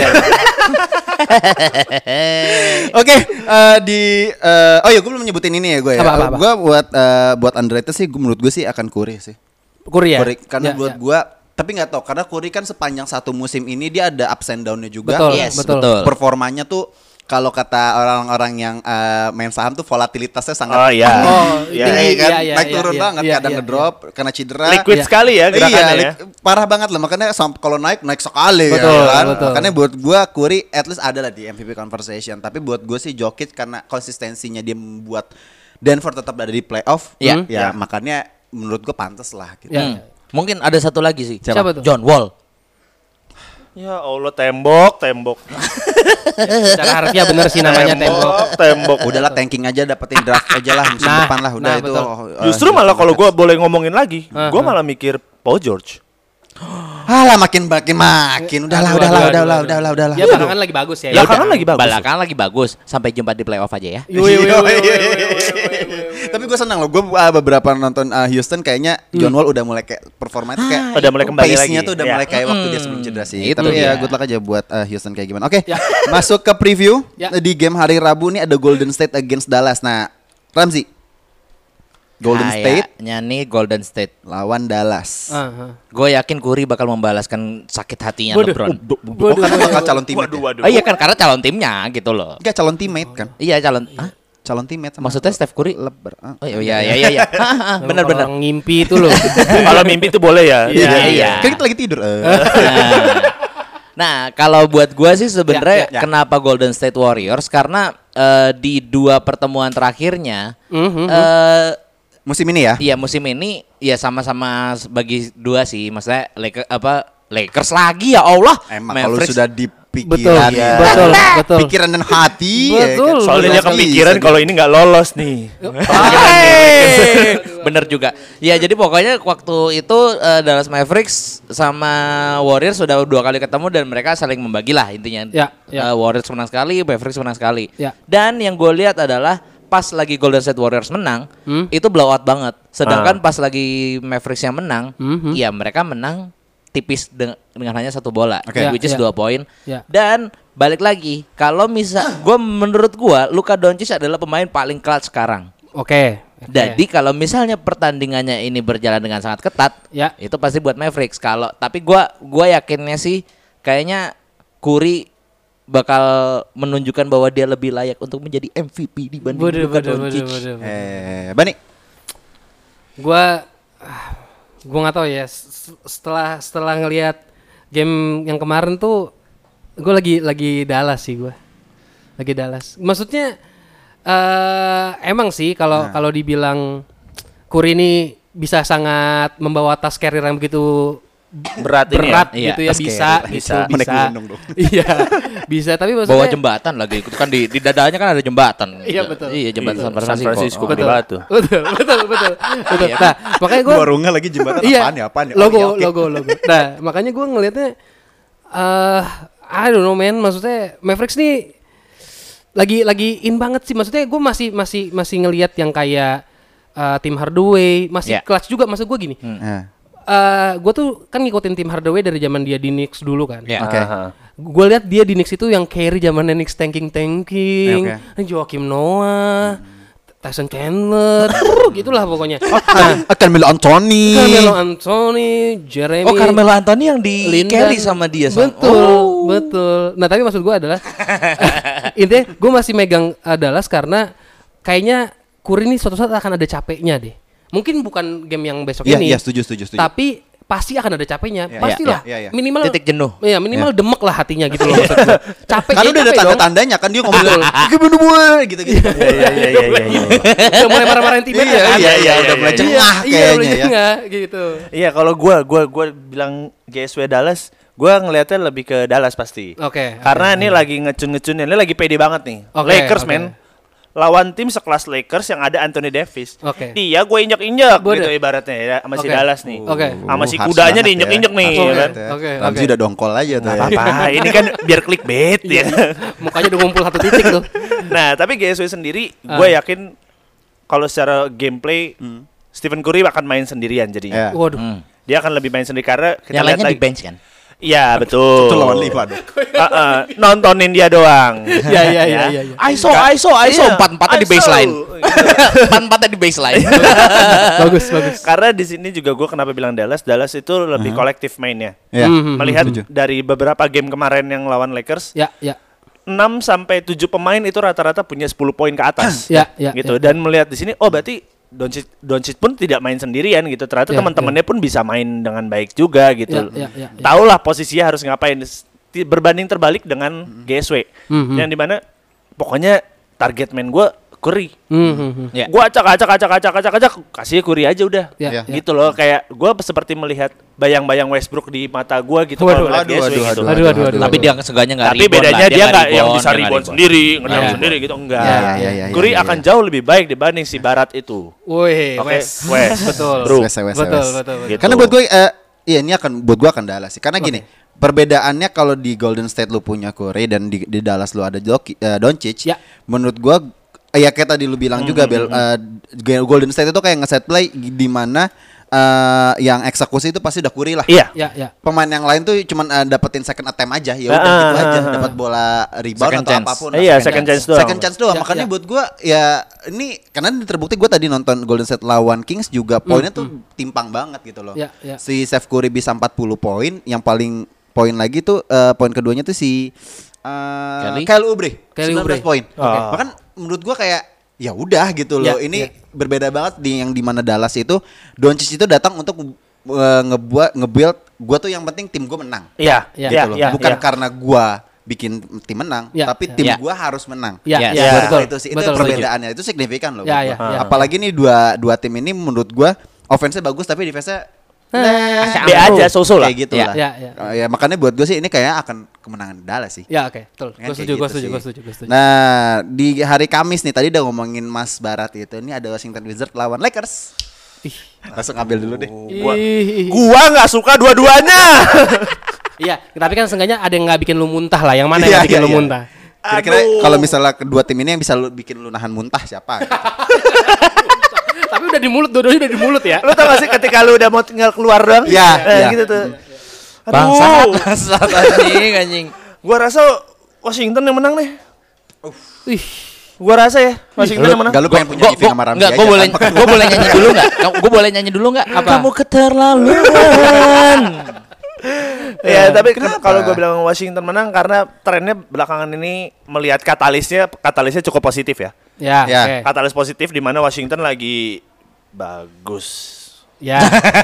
Oke, oh ya gue belum nyebutin ini ya gue ya. Gue buat underrated sih, menurut gue sih akan Curry sih. Curry ya. Karena buat gue, tapi nggak tahu karena Curry kan sepanjang satu musim ini dia ada ups and down-nya juga. Betul. Performanya tuh kalau kata orang-orang yang main saham tuh volatilitasnya sangat tinggi kan, naik turun banget, kadang ngedrop karena cedera. Liquid sekali ya gerakannya. Parah banget lah, makanya kalau naik sekali kan. Makanya buat gua Curry at least ada lah di MVP conversation. Tapi buat gua sih Jokic karena konsistensinya dia membuat Denver tetap ada di playoff. Ya makanya menurut gua pantas lah gitu. Mungkin ada satu lagi sih. Siapa tuh? John Wall. Ya Allah, tembok. Secara harfiah bener sih namanya tembok. Udahlah tanking aja, dapetin draft aja lah musim depan lah udah itu. Justru malah kalau gue boleh ngomongin lagi, gue malah mikir Paul George. Alah makin. Udahlah. Ya belakangan lagi bagus ya. Belakangan lagi bagus. Sampai jumpa di playoff aja ya. Tapi gue senang loh. Gue beberapa nonton Houston kayaknya John Wall udah mulai kayak performanya tuh kayak udah mulai kembali lagi. Pace-nya tuh udah mulai kayak waktu dia sebelum cedera sih. Tapi ya good luck aja buat Houston kayak gimana. Oke, masuk ke preview. Di game hari Rabu nih ada Golden State against Dallas. Nah, Ramzi, Golden State nih Golden State lawan Dallas. Gue yakin Curry bakal membalaskan sakit hatinya LeBron. Karena bakal calon teammate. Iya kan karena calon timnya gitu loh. Enggak calon teammate kan? Iya calon teammate. Maksudnya Steph Curry Oh iya. Benar. Orang ngimpi itu loh. Kalau mimpi itu boleh ya. Iya. Kan kita lagi tidur. Nah, kalau buat gue sih sebenarnya kenapa Golden State Warriors karena di 2 pertemuan terakhirnya musim ini ya? Iya musim ini ya sama-sama bagi 2 sih. Maksudnya Lakers lagi ya Allah. Emang kalau sudah dipikiran betul. Pikiran dan hati. Betul. Soalnya dia kepikiran kalau ini nggak lolos nih. Bener juga. Ya jadi pokoknya waktu itu Dallas Mavericks sama Warriors sudah 2 kali ketemu dan mereka saling membagi lah intinya. Warriors menang sekali, Mavericks menang sekali. Dan yang gue lihat adalah pas lagi Golden State Warriors menang, itu blowout banget. Sedangkan pas lagi Mavericks yang menang, ya mereka menang tipis dengan hanya 1 bola, which is 2 poin. Dan balik lagi, kalau menurut gue Luka Doncic adalah pemain paling clutch sekarang. Oke. Jadi kalau misalnya pertandingannya ini berjalan dengan sangat ketat, itu pasti buat Mavericks. Tapi gua yakinnya sih kayaknya Curry bakal menunjukkan bahwa dia lebih layak untuk menjadi MVP dibanding Luka Doncic. Bani. Gua nggak tahu ya. Setelah ngelihat game yang kemarin tuh, gue lagi Dallas sih gue. Lagi Dallas. Maksudnya emang sih kalau dibilang Curry ini bisa sangat membawa tas carrier yang begitu berat gitu ya, bisa. Iya, bisa, tapi maksudnya bawa jembatan lagi, itu kan di dadanya kan ada jembatan. Iya betul. Iya, jembatan San Francisco. Betul. Nah, makanya gue warungnya lagi jembatan apaan ya? Logo. Nah, makanya gue ngelihatnya I don't know man, maksudnya Mavericks nih lagi in banget sih. Maksudnya gue masih ngelihat yang kayak Tim Hardaway masih clutch juga. Maksud gue gini. Gue tuh kan ngikutin Tim Hardaway dari zaman dia di Knicks dulu kan. Gue lihat dia di Knicks itu yang carry zamannya Knicks tanking, Joakim Noah, Tyson Chandler, gitulah pokoknya. Carmelo Anthony, Jeremy. Carmelo Anthony yang di carry sama dia. Betul. Nah tapi maksud gue adalah intinya gue masih megang Dallas karena kayaknya Curry ini suatu saat akan ada capeknya deh. Mungkin bukan game yang besok ini. Iya, setuju. Tapi pasti akan ada capeknya. Pastilah. Minimal titik jenuh. Iya, minimal demek lah hatinya gitu loh maksudnya. Capek. Kan udah ada tanda-tandanya kan dia ngomong gitu-gitu. Iya. Udah mulai marah-marahin tim kan. Iya, udah mulai cengah kayaknya ya. Gitu. Iya, kalau gua bilang GSW Dallas, gua ngelihatnya lebih ke Dallas pasti. Oke. Karena ini lagi ngecun-ngecunnya, ini lagi pede banget nih. Lakers men. Lawan tim sekelas Lakers yang ada Anthony Davis. Dia gue injek-injek gitu ibaratnya ya, sama si Dallas nih. Sama si kudanya diinjek-injek nih. Ramzi udah dongkol aja tuh. Apa-apa, ini kan biar clickbait ya. Mukanya udah ngumpul satu titik tuh. Nah, tapi GSW sendiri gue yakin kalau secara gameplay Stephen Curry akan main sendirian jadinya. Waduh. Dia akan lebih main sendiri karena kita lihat lagi di bench kan. Iya betul. Itu lawan 5 dong. Nontonin dia doang. Iya. ISO 4-4 di baseline. 4-4 di baseline. Bagus. Karena di sini juga gue kenapa bilang Dallas itu lebih kolektif mainnya. Melihat dari beberapa game kemarin yang lawan Lakers. 6 sampai 7 pemain itu rata-rata punya 10 poin ke atas. Gitu. Dan melihat di sini berarti Doncic pun tidak main sendirian gitu. Ternyata teman-temannya pun bisa main dengan baik juga gitu. Taulah posisinya harus ngapain. Berbanding terbalik dengan GSW yang dimana pokoknya target main gue Curry. Gue acak kasih Curry aja udah. Gitu loh, kayak gue seperti melihat bayang-bayang Westbrook di mata gue gitu. Aduh. Tapi dia seenggaknya nggak rebound. Tapi bedanya dia nggak yang bisa rebound sendiri, ngedang sendiri gitu, enggak. Curry akan jauh lebih baik dibanding si Barat itu. Wih, West. Betul. Betul. Karena buat gue ini buat gue akan Dallas sih. Karena gini, perbedaannya kalau di Golden State lu punya Curry dan di Dallas lu ada Doncic, menurut gue ya kayak tadi lu bilang juga Bel, Golden State itu kayak nge-set play di mana yang eksekusi itu pasti udah Curry lah. Iya. Pemain yang lain tuh cuman dapetin second attempt aja, ya udah gitu aja, dapat bola rebound atau apapun. Iya, second chance doang. Makanya buat gua ya ini karena terbukti gua tadi nonton Golden State lawan Kings juga poinnya tuh timpang banget gitu loh. Si Steph Curry bisa 40 poin, yang paling poin lagi tuh poin keduanya tuh si Kyle Oubre 19 poin. Bahkan menurut gua kayak ya udah gitu loh. Ini berbeda banget di yang di mana Dallas itu Doncic itu datang untuk ngebuild gua tuh yang penting tim gua menang. Gitu loh. Bukan karena gua bikin tim menang, tapi tim gua harus menang. Betul. Itu sih, itu perbedaannya. Itu signifikan loh. Apalagi nih dua tim ini menurut gua offense-nya bagus tapi defense-nya B aja, so-so lah. Kayak gitu lah. Ya makanya buat gue sih ini kayak akan kemenangan Dallas sih. Ya oke, betul. Gue setuju. Nah, di hari Kamis nih tadi udah ngomongin Mas Barat itu. Ini ada Washington Wizards lawan Lakers. Langsung ambil dulu deh. Gua nggak suka dua-duanya. Iya, tapi kan seenggaknya ada yang nggak bikin lu muntah lah. Yang mana yang bikin lu muntah? Kira-kira kalau misalnya kedua tim ini yang bisa bikin lu nahan muntah siapa? Tapi udah di mulut, dua-duanya udah di mulut ya. Lu tau gak sih ketika lu udah mau tinggal keluar doang? Gitu tuh. Bangsat anjing. Gua rasa Washington yang menang nih. Gua rasa ya Washington yang menang. Gak lu pengen punya Ivy sama Ramsey enggak, aja. gue boleh nyanyi dulu enggak? Gue boleh nyanyi dulu enggak? Kamu keterlaluan. Ya, tapi kalau gue bilang Washington menang karena trennya belakangan ini melihat katalisnya cukup positif ya. Ya. Ya. Katalis positif di mana Washington lagi bagus. Ya.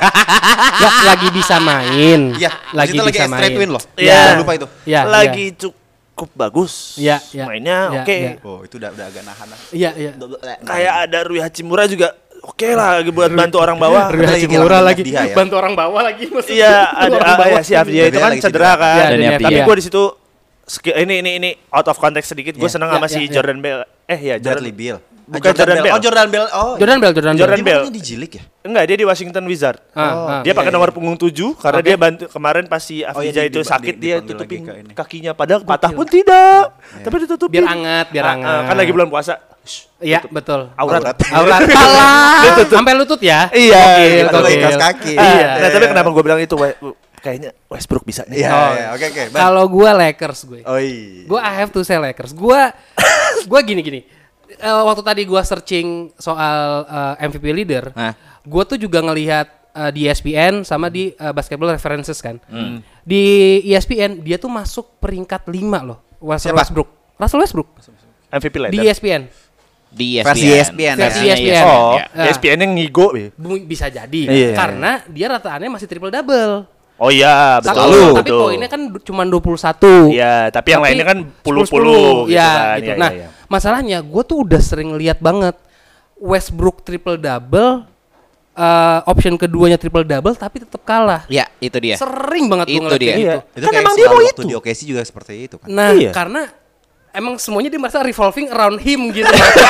Lagi bisa main. Iya, lagi bisa main. straight win loh. Iya. Jangan lupa itu. Ya, Lagi cukup bagus. Ya, ya. Mainnya Ya, oke. ya. Oh, itu udah agak nahan. Iya. Kayak ada Rui Hachimura juga oke lah buat bantu orang bawah. Rui Lagi Hachimura kehilangan lagi dia ya. bantu orang bawah lagi maksudnya. Iya, ada si Afdia itu kan lagi cedera cedera. kan. Ya, Dani Tapi Afdia. gue di situ ini out of context sedikit. Gue seneng sama si ya. Jordan Bell. Bradley Beal. Bukan Jordan Bell. Oh, Jordan Bell. Oh, Jordan Bell. Jordan dia Bell. mainnya di Jilik ya? Enggak, dia di Washington Wizard. Dia pakai nomor punggung 7 karena dia bantu kemarin pas si Afdija itu sakit dia dipanggil tutupin lagi ke ini. kakinya padahal patah pun tidak. Tapi ditutupin. Biar hangat. Kan lagi bulan puasa. Iya, betul. Aurat. Aurat. Alah. Sampai lutut ya? Iya, Kalau Gokil. ikas kaki. Nah, tapi kenapa gue bilang itu kayaknya Westbrook bisa nih. Iya, oke. Kalau gue Lakers gue. Oh iya. Gue I have to say Lakers. Gue gini. Waktu tadi gue searching soal MVP leader, gue tuh juga ngelihat di ESPN sama di Basketball References kan. Di ESPN dia tuh masuk peringkat 5 loh. Russell Westbrook. MVP leader. Di ESPN. Di Versi ESPN. Versi Versinya ESPN. Oh, Ya. ESPN yang ngigo. Bisa jadi Iya. karena dia rataannya masih triple double. Oh iya, betul. Tapi poinnya kan cuma 21. Iya, tapi yang lainnya kan 10-10 gitu ya, kan. gitu. Iya, Nah, iya. masalahnya gue tuh udah sering lihat banget Westbrook triple double, option keduanya triple double tapi tetap kalah. Ya, itu dia. Sering banget gue Itu ngeliat dia. kayak gitu. Itu Kan kayak emang dia mau waktu itu. di OKC juga seperti itu kan. Nah, Iya. karena emang semuanya dia merasa revolving around him gitu.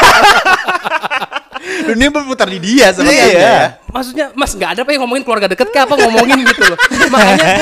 Dunia berputar di dia sebenarnya. Iya. Ya. Maksudnya, Mas nggak ada apa yang ngomongin keluarga deket kah apa ngomongin gitu loh. Makanya gue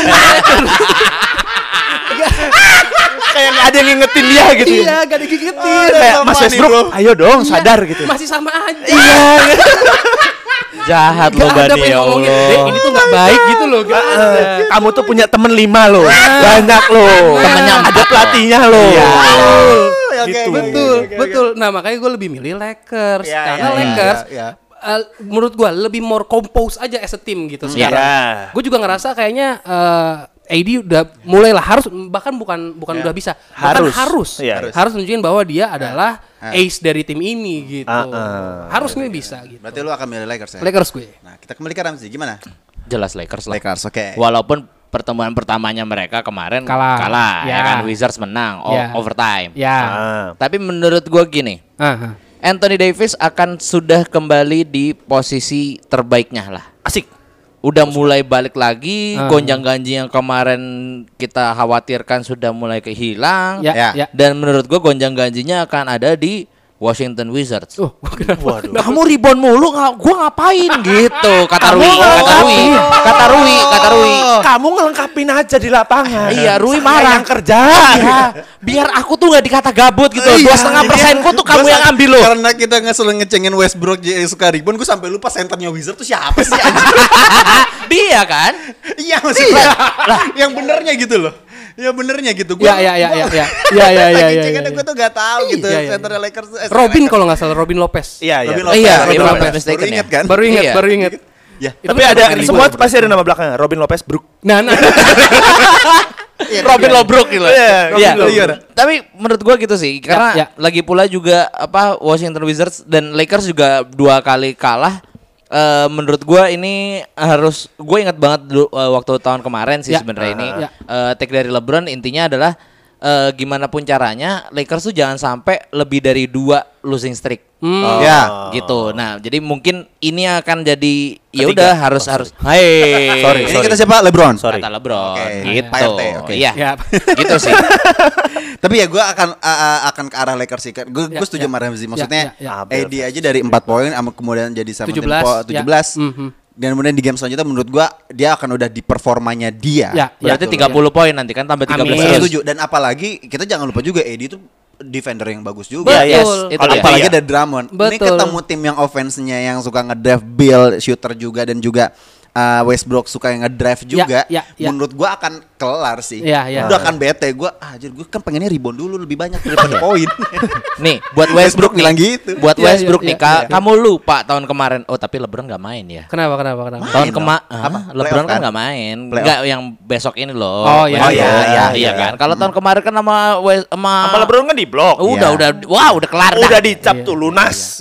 Kayak nggak ada yang ngingetin dia gitu. iya gak ada gigitin. Kayak Mas Westbrook, ayo dong sadar gitu. Masih sama aja. Iya. Jahat lo Gak ada Bani, apa ya yang ngomongin, Allah. "Dek, ini tuh gak baik gitu loh. Gak ada. Kamu tuh punya temen 5 loh. Banyak loh. Temennya ada pelatihnya loh. Iya. Gitu. Betul. Nah makanya gue lebih milih Lakers. Iya, Karena iya, Lakers iya. menurut gue lebih more compose aja as a team gitu sekarang. Iya. Gue juga ngerasa kayaknya AD udah mulailah harus bahkan bukan udah bisa bahkan harus Iya. nunjukin bahwa dia adalah ace dari tim ini gitu. Harus nih bisa gitu. Berarti lu akan milih Lakers ya? Lakers gue. Nah, kita kembali ke Ramsey. Gimana? Jelas Lakers lah. Lakers, oke. Walaupun pertemuan pertamanya mereka kemarin Kalah. ya Ya. kan, Wizards menang Ya. overtime. Ya. Tapi menurut gua gini, Anthony Davis akan sudah kembali di posisi terbaiknya lah. Asik. Udah mulai balik lagi, gonjang-ganjing yang kemarin kita khawatirkan sudah mulai kehilang. Ya. Dan menurut gua gonjang-ganjingnya akan ada di Washington Wizards. Kenapa? Kamu rebound mulu, gua ngapain gitu? Kata Rui. Kamu ngelengkapin aja di lapangan. Iya, Rui Saya marah. yang kerja. Iya, biar aku tuh nggak dikata gabut gitu. 2,5%ku tuh kamu yang ambil loh. Karena kita selalu ngecengin Westbrook suka rebound, gue sampai lupa senternya Wizard tuh siapa sih anjing? Dia kan? Iya maksudnya. Yang benernya gitu loh. Ya benernya gitu. Ya. Gue tuh gak tahu gitu. Iya. Senternya Lakers. Robin kalau nggak salah Robin Lopez. Iya, Robin iya. Lopez. Iya, Robin Robin Lopez. Lopez Baru ingat kan? Baru ingat. Ya. Tapi ada semua pasti ada nama belakangnya. Robin Lopez Brook. Nah. Robin Lobrok gitu. Iya, Iya. Robin Lopez. Tapi menurut gua gitu sih, karena Ya. lagi pula juga Washington Wizards dan Lakers juga 2 kali kalah. Menurut gua ini harus, gue ingat banget dulu, waktu tahun kemarin sih Ya. sebenarnya ini Ya. take dari LeBron intinya adalah gimana pun caranya Lakers tuh jangan sampai lebih dari 2 losing streak. Ya. Gitu. Nah, jadi mungkin ini akan jadi ya udah harus. Hai. Sorry. Ini kita siapa? LeBron. Sorry. Kata LeBron. Oke. Gitu. Pak RT, oke. Iya. Ya. Gitu sih. Tapi ya gue akan ke arah Lakers sih. Gue setuju sama Ramsey. Maksudnya Ya. AD aja dari 4 poin, kemudian jadi sama 17, 17. ya. Dan kemudian di game selanjutnya menurut gue dia akan udah di performanya dia. Ya. Berarti Betul. 30 poin nanti kan tambah 13 Amin. Saya terus. setuju. Dan apalagi kita jangan lupa juga AD itu defender yang bagus juga. Iya, yes, Betul. itu Kalau dia. apalagi Iya. ada Drummond. Ini Betul. ketemu tim yang offense-nya yang suka nge-drive, build, shooter juga dan juga Westbrook suka yang ngedrive juga, menurut gua akan kelar sih. Udah akan bete gua. Anjir, gua kan pengennya rebound dulu lebih banyak daripada poin. Nih, buat Westbrook bilang gitu. Buat Westbrook nih, kamu lupa tahun kemarin. Oh, tapi LeBron enggak main ya. Kenapa? Tahun kemarin LeBron kan enggak main. Enggak yang besok ini loh. Oh iya kan. Kalau tahun kemarin kan sama LeBron kan di blok. Udah kelar. Udah dicap tuh lunas.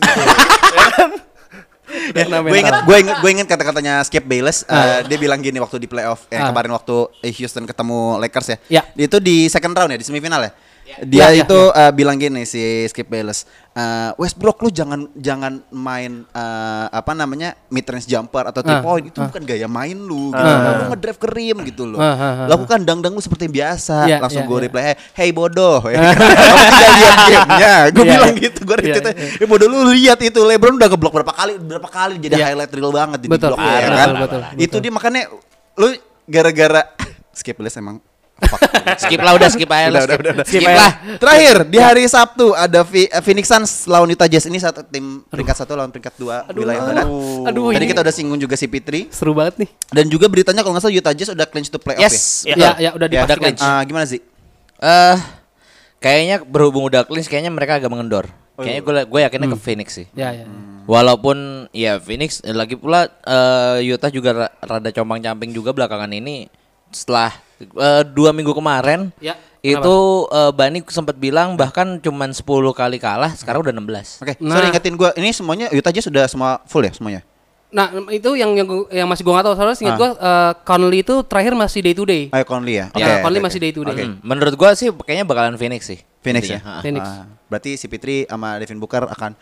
Gue inget kata-katanya Skip Bayless. Dia bilang gini waktu di playoff kemarin waktu Houston ketemu Lakers ya. Itu di second round ya, di semifinal ya. Dia bilang gini si Skip Bayless, Westbrook lu jangan main mid range jumper atau 3 point, itu bukan gaya main lu gitu. Lu ngedrive ke rim gitu loh. Lakukan dang-dang lu seperti biasa. Langsung gue reply, hey bodoh. Kamu tidak lihat gamenya. Gue bilang gitu, gue retweet. Bodoh, lu lihat itu LeBron udah ngeblok berapa kali jadi highlight reel banget di blok ya kan. Itu dia makanya lu gara-gara Skip Bayless emang skip aja. Skip lah. Terakhir di hari Sabtu ada Phoenix Suns lawan Utah Jazz. Ini satu tim peringkat 1 lawan peringkat 2 wilayah barat. Tadi kita udah singgung juga si Fitri. Seru banget nih. Dan juga beritanya kalau nggak salah Utah Jazz udah clinch to playoff ya. Udah clinch. Gimana sih? Kayaknya berhubung udah clinch, kayaknya mereka agak mengendor. Kayaknya gue yakinnya ke Phoenix sih. Walaupun ya Phoenix lagi pula Utah juga rada compang-camping juga belakangan ini. Setelah 2 minggu kemarin itu Bani sempat bilang bahkan cuman 10 kali kalah, sekarang udah 16. Oke. Sorry ingetin gue, ini semuanya Utah aja sudah semua full ya semuanya. Nah itu yang masih gue nggak tahu, soalnya ingat gue Conley itu terakhir masih day to day. Conley ya. Conley masih day to day. Menurut gue sih kayaknya bakalan Phoenix sih. Phoenix ya. Phoenix. Berarti si Fitri sama Devin Booker akan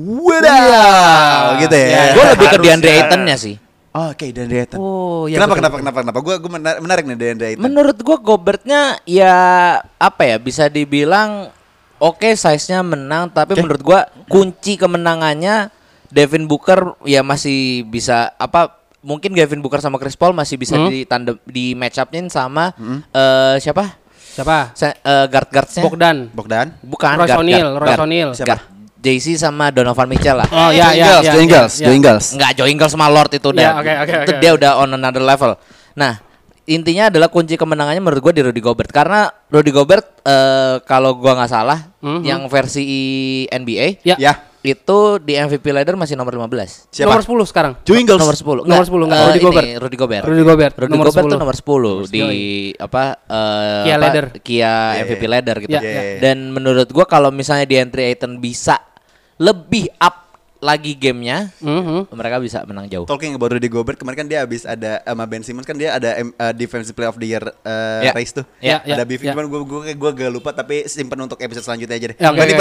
gitu ya. Gue lebih ke DeAndre Ayton-nya sih. Oke, DeAndre Ayton. Kenapa? Gue menarik nih DeAndre Ayton. Menurut gue Gobertnya ya bisa dibilang size-nya menang, tapi menurut gue kunci kemenangannya Devin Booker ya masih bisa mungkin Devin Booker sama Chris Paul masih bisa di match up-in sama siapa? Guard-guardsnya? Bogdan. Bukan. Royce O'Neal. Siapa? JC sama Donovan Mitchell lah. Joe Ingles. Enggak, Joe Ingles sama Lord itu udah. Itu dia udah on another level. Nah, intinya adalah kunci kemenangannya menurut gue di Rudy Gobert, karena Rudy Gobert kalau gue nggak salah yang versi NBA itu di MVP ladder masih nomor 15. Siapa? Nomor 10 sekarang. Joe Ingles. Nomor 10. Nomor 10 enggak. Rudy Gobert. Rudy Gobert tuh nomor 10 di Kia MVP ladder gitu. Dan menurut gue kalau misalnya DeAndre Ayton bisa lebih up lagi gamenya, mereka bisa menang jauh. Talking about Rudy Gobert, kemarin kan dia habis ada sama Ben Simmons kan dia ada Defensive Player of the Year race tuh. Ada beef, cuman gue gak lupa, tapi simpen untuk episode selanjutnya aja deh.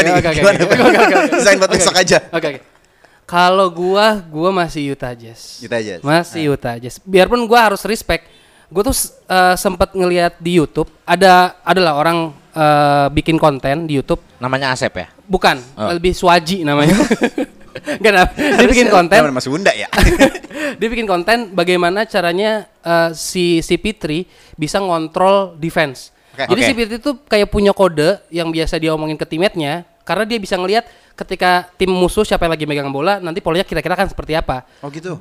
Desain buat besok aja. Kalau gue masih Utah Jazz. Utah Jazz. Biarpun gue harus respect, gue tuh sempat ngelihat di YouTube adalah orang bikin konten di YouTube. Namanya Asep ya? Bukan, lebih Swaji namanya. Enggak, dia bikin konten. Mas Bunda ya. Dia bikin konten bagaimana caranya si Fitri bisa ngontrol defense. Jadi si Fitri itu kayak punya kode yang biasa dia omongin ke teammate-nya, karena dia bisa ngelihat ketika tim musuh siapa yang lagi megang bola, nanti polanya kira-kira akan seperti apa. Oh gitu.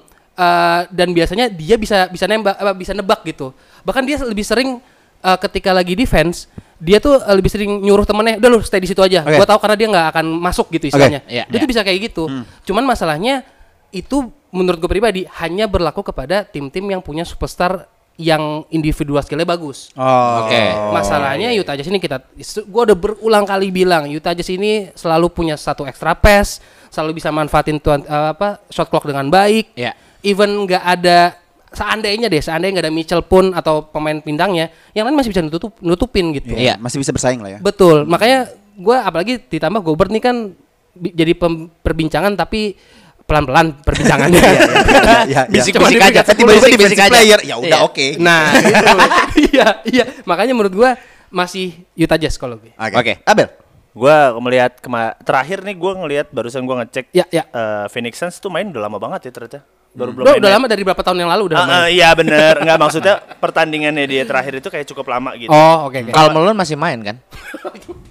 Dan biasanya dia bisa nebak gitu. Bahkan dia lebih sering ketika lagi defense, dia tuh lebih sering nyuruh temennya, udah lu stay di situ aja. Gua tahu karena dia nggak akan masuk gitu istilahnya. Dia tuh bisa kayak gitu. Cuman masalahnya itu menurut gue pribadi hanya berlaku kepada tim-tim yang punya superstar yang individual skillnya bagus. Masalahnya Utah Jazz ini gue udah berulang kali bilang Utah Jazz ini selalu punya satu extra pass, selalu bisa manfaatin shot clock dengan baik. Even nggak ada seandainya nggak ada Mitchell pun atau pemain bintangnya, yang lain masih bisa nutupin gitu. Masih bisa bersaing lah ya. Betul, makanya gue apalagi ditambah Gobert nih kan jadi perbincangan tapi pelan-pelan perbincangannya. Bisik-bisik aja. Tiba-tiba defensive player, ya udah oke. Nah, iya. Makanya menurut gue masih Utah Jazz kalau gue. Oke. Abel. Gue melihat terakhir nih gue ngelihat barusan gue ngecek Phoenix Suns tuh main udah lama banget ya ternyata. Udah lama dari berapa tahun yang lalu udah main. Iya bener, enggak maksudnya pertandingannya dia terakhir itu kayak cukup lama gitu. Karl Malone masih main kan?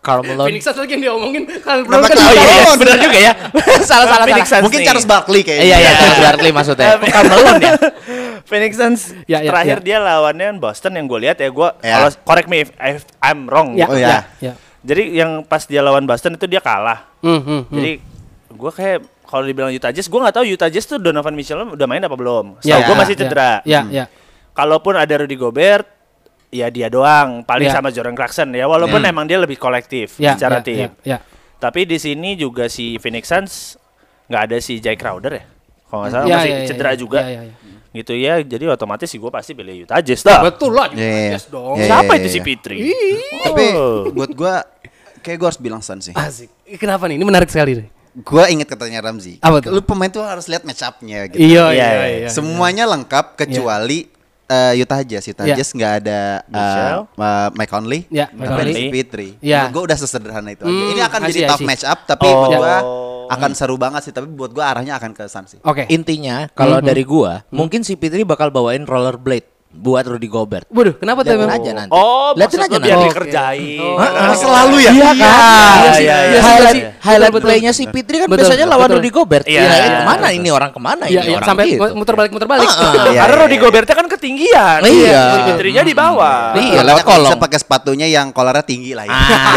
Karl Malone. Phoenix Suns lagi yang diomongin. Karl Nama Malone kan Karl Malone. Benar juga ya. salah. Mungkin Charles Barkley kayaknya. Iya, Charles Barkley maksudnya. Karl Malone ya. Phoenix Suns terakhir dia lawannya Boston yang gue lihat ya, kalau correct me if I'm wrong. Ya. Jadi yang pas dia lawan Boston itu dia kalah. Jadi gue kayak kalau dibilang Utah Jazz, gue nggak tahu Utah Jazz tuh Donovan Mitchell udah main apa belum. Gue masih cedera. Kalaupun ada Rudy Gobert, ya dia doang. Paling sama Jordan Clarkson ya. Walaupun emang dia lebih kolektif secara tim. Tapi di sini juga si Phoenix Suns nggak ada si Jay Crowder ya. Kalau nggak salah masih cedera juga. Gitu ya, jadi otomatis sih gue pasti pilih Utah Jazz dah. Betul lah, Utah Jazz dong. Siapa itu si Fitri? Tapi buat gue kayak gue harus bilang Suns sih. Asik. Kenapa nih? Ini menarik sekali nih. Gue inget katanya Ramzi. Apa tuh? Lu pemain tuh harus lihat match up-nya gitu. Iya. Semuanya lengkap kecuali Utah Jazz. Jazz nggak ada Mike Conley, ada si Fitri. Gue udah sesederhana itu aja. Ini akan jadi tough match up, tapi buat gue akan seru banget sih. Tapi buat gue arahnya akan ke Suns sih. Intinya kalau dari gue, mungkin si Fitri bakal bawain rollerblade buat Rudy Gobert. Waduh, kenapa tuh? Lihatin aja nanti. Lihatin aja biar dikerjain. Selalu ya. Highlight playnya si Fitri kan biasanya lawan Rudy Gobert. Kemana ini orang kemana ini orang sampai gitu. muter balik. Karena Rudy Gobertnya kan ketinggian. Fitrinya di bawah. Iya, lewat kolong. Bisa pakai sepatunya yang kolarnya tinggi lah ya.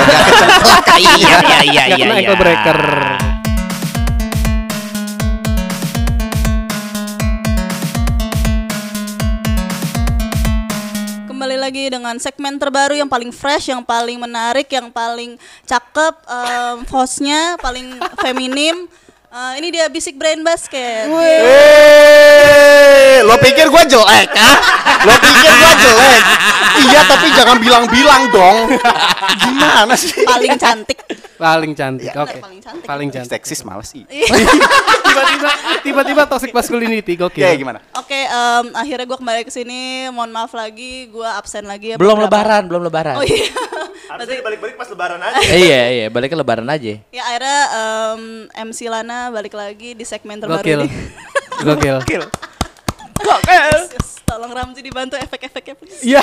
Iya. Kena ankle breaker. Kembali lagi dengan segmen terbaru yang paling fresh, yang paling menarik, yang paling cakep, hostnya paling feminim. Ini dia Bisik Brain Basket. Lo pikir gue jelek, ah? Lo pikir gue jelek? Iya, tapi jangan bilang-bilang dong. Gimana sih? Paling cantik. Oke. Paling cantik. Seksis males sih. Tiba-tiba toxic masculinity, gokil. Ya gimana? Oke, akhirnya gue kembali ke sini. Mohon maaf lagi, gue absen lagi ya. Belum lebaran. Oh iya. Harusnya balik-balik pas lebaran aja. Iya, baliknya lebaran aja. Ya akhirnya MC Lana balik lagi di segmen terbaru ini. Gokil. Tolong Ramzi dibantu efek-efeknya please. Iya.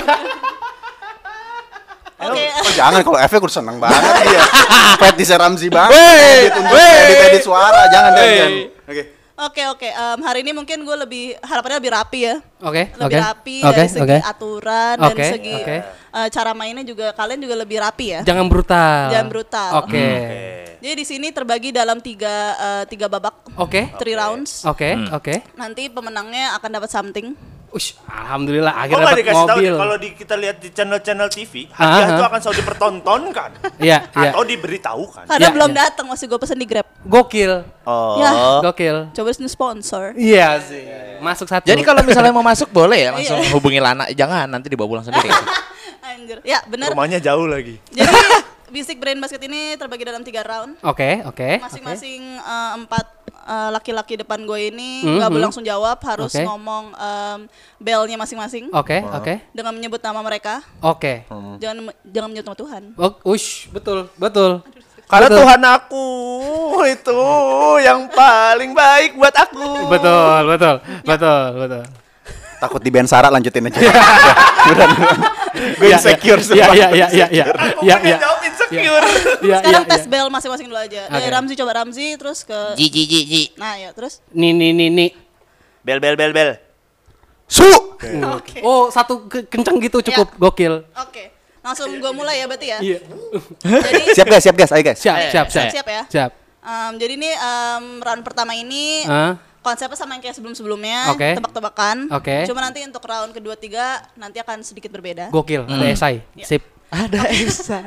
Oke. Jangan, kalau efek udah seneng banget dia. Fetisnya Ramzi banget. Untuk edit suara, jangan. Oke. Hari ini mungkin gue harapannya lebih rapi ya. Lebih rapi dari segi aturan dan segi cara mainnya juga, kalian juga lebih rapi ya. Jangan brutal. Oke. Jadi di sini terbagi dalam tiga babak. 3 rounds. Oke. Nanti pemenangnya akan dapat something. Alhamdulillah akhirnya dapat mobil. Kalau kita lihat di channel-channel TV, hadiah itu akan selalu dipertontonkan. Iya. Atau diberitahukan. Karena belum datang, masih gue pesen di Grab. Gokil. Gokil. Coba sini sponsor. Iya sih. Masuk satu. Jadi kalau misalnya mau masuk boleh ya langsung hubungi Lana. Jangan nanti dibawa pulang sendiri. Anjir. Ya, benar. Rumahnya jauh lagi. Jadi Bisik Brain Basket ini terbagi dalam 3 round. Oke. Masing-masing 4 laki-laki depan gue ini nggak boleh langsung jawab, harus ngomong bellnya masing-masing. Oke. Dengan menyebut nama mereka. Oke. Jangan menyebut nama Tuhan. Betul. Karena Tuhan aku itu yang paling baik buat aku. Betul. Takut di band Sarah, lanjutin aja. Gue insecure Iya. Jawab insecure. Sekarang tes bell masing-masing dulu aja. Dari Ramzi, coba Ramzi, terus ke Ji. Nah ya, terus Nih. Bel. Su. Oh, satu kencang gitu cukup. Gokil. Oke. Langsung gue mulai ya berarti ya. Iya. Jadi Siap guys, ayo guys. siap ya. Siap. Jadi ini round pertama ini konsepnya sama yang kayak sebelum-sebelumnya, tebak-tebakan. Cuma nanti untuk round kedua, 3 nanti akan sedikit berbeda. Gokil. Ada esai. Sip. Ada esai.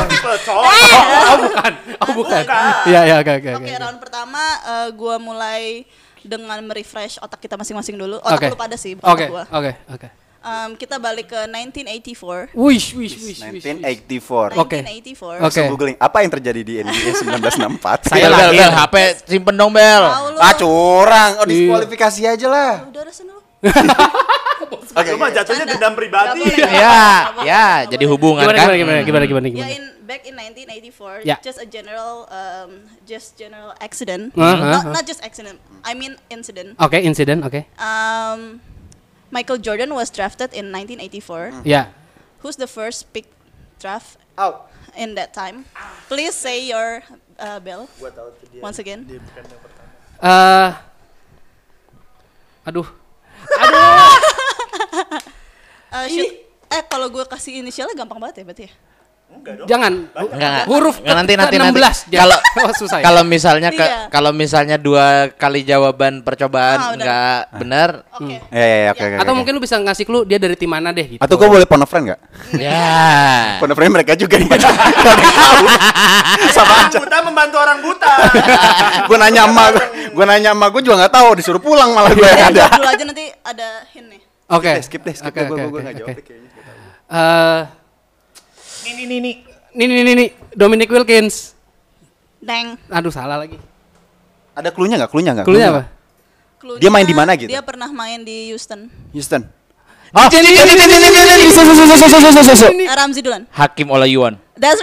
Bukan. Iya, oke. Oke, round pertama gua mulai dengan merefresh otak kita masing-masing dulu. Otak lu pada sih, bukan otak gua. Oke. Kita balik ke 1984. Wish. 1984. Oke. 1984. Langsung googling apa yang terjadi di NBA 1964. Bel, HP simpen dong Bel. Curang. Diskualifikasi aja lah. Udah sana lu. Lu mah jatuhnya dendam pribadi. Ya, jadi hubungan kan. Gimana? Ya, back in 1984, just a general accident. Not just accident, I mean incident. Oke, incident. Michael Jordan was drafted in 1984. Yeah. Who's the first pick draft in that time. Please say your bell once again. Aduh. Kalau gue kasih inisialnya gampang banget ya berarti ya? Jangan. Huruf nanti. 16. Kalau susah. Kalau misalnya 2 kali jawaban percobaan enggak benar. Oke. Atau mungkin lu bisa ngasih clue dia dari tim mana deh gitu. Atau gue boleh phone a friend enggak? Ya. Phone a friend mereka juga nih. Sama aja. Buta membantu orang buta. Gue nanya emak gue juga enggak tahu, disuruh pulang malah gue yang ada. Dulu aja nanti ada hint nih. Oke. Skip deh. Gue enggak jawab kayaknya. Ini Dominic Wilkins. Deng. Aduh salah lagi. Ada clue-nya enggak? Clue-nya apa? Dia main di mana gitu? Dia pernah main di Houston. Ramzi duluan. Hakim Olajuwon. That's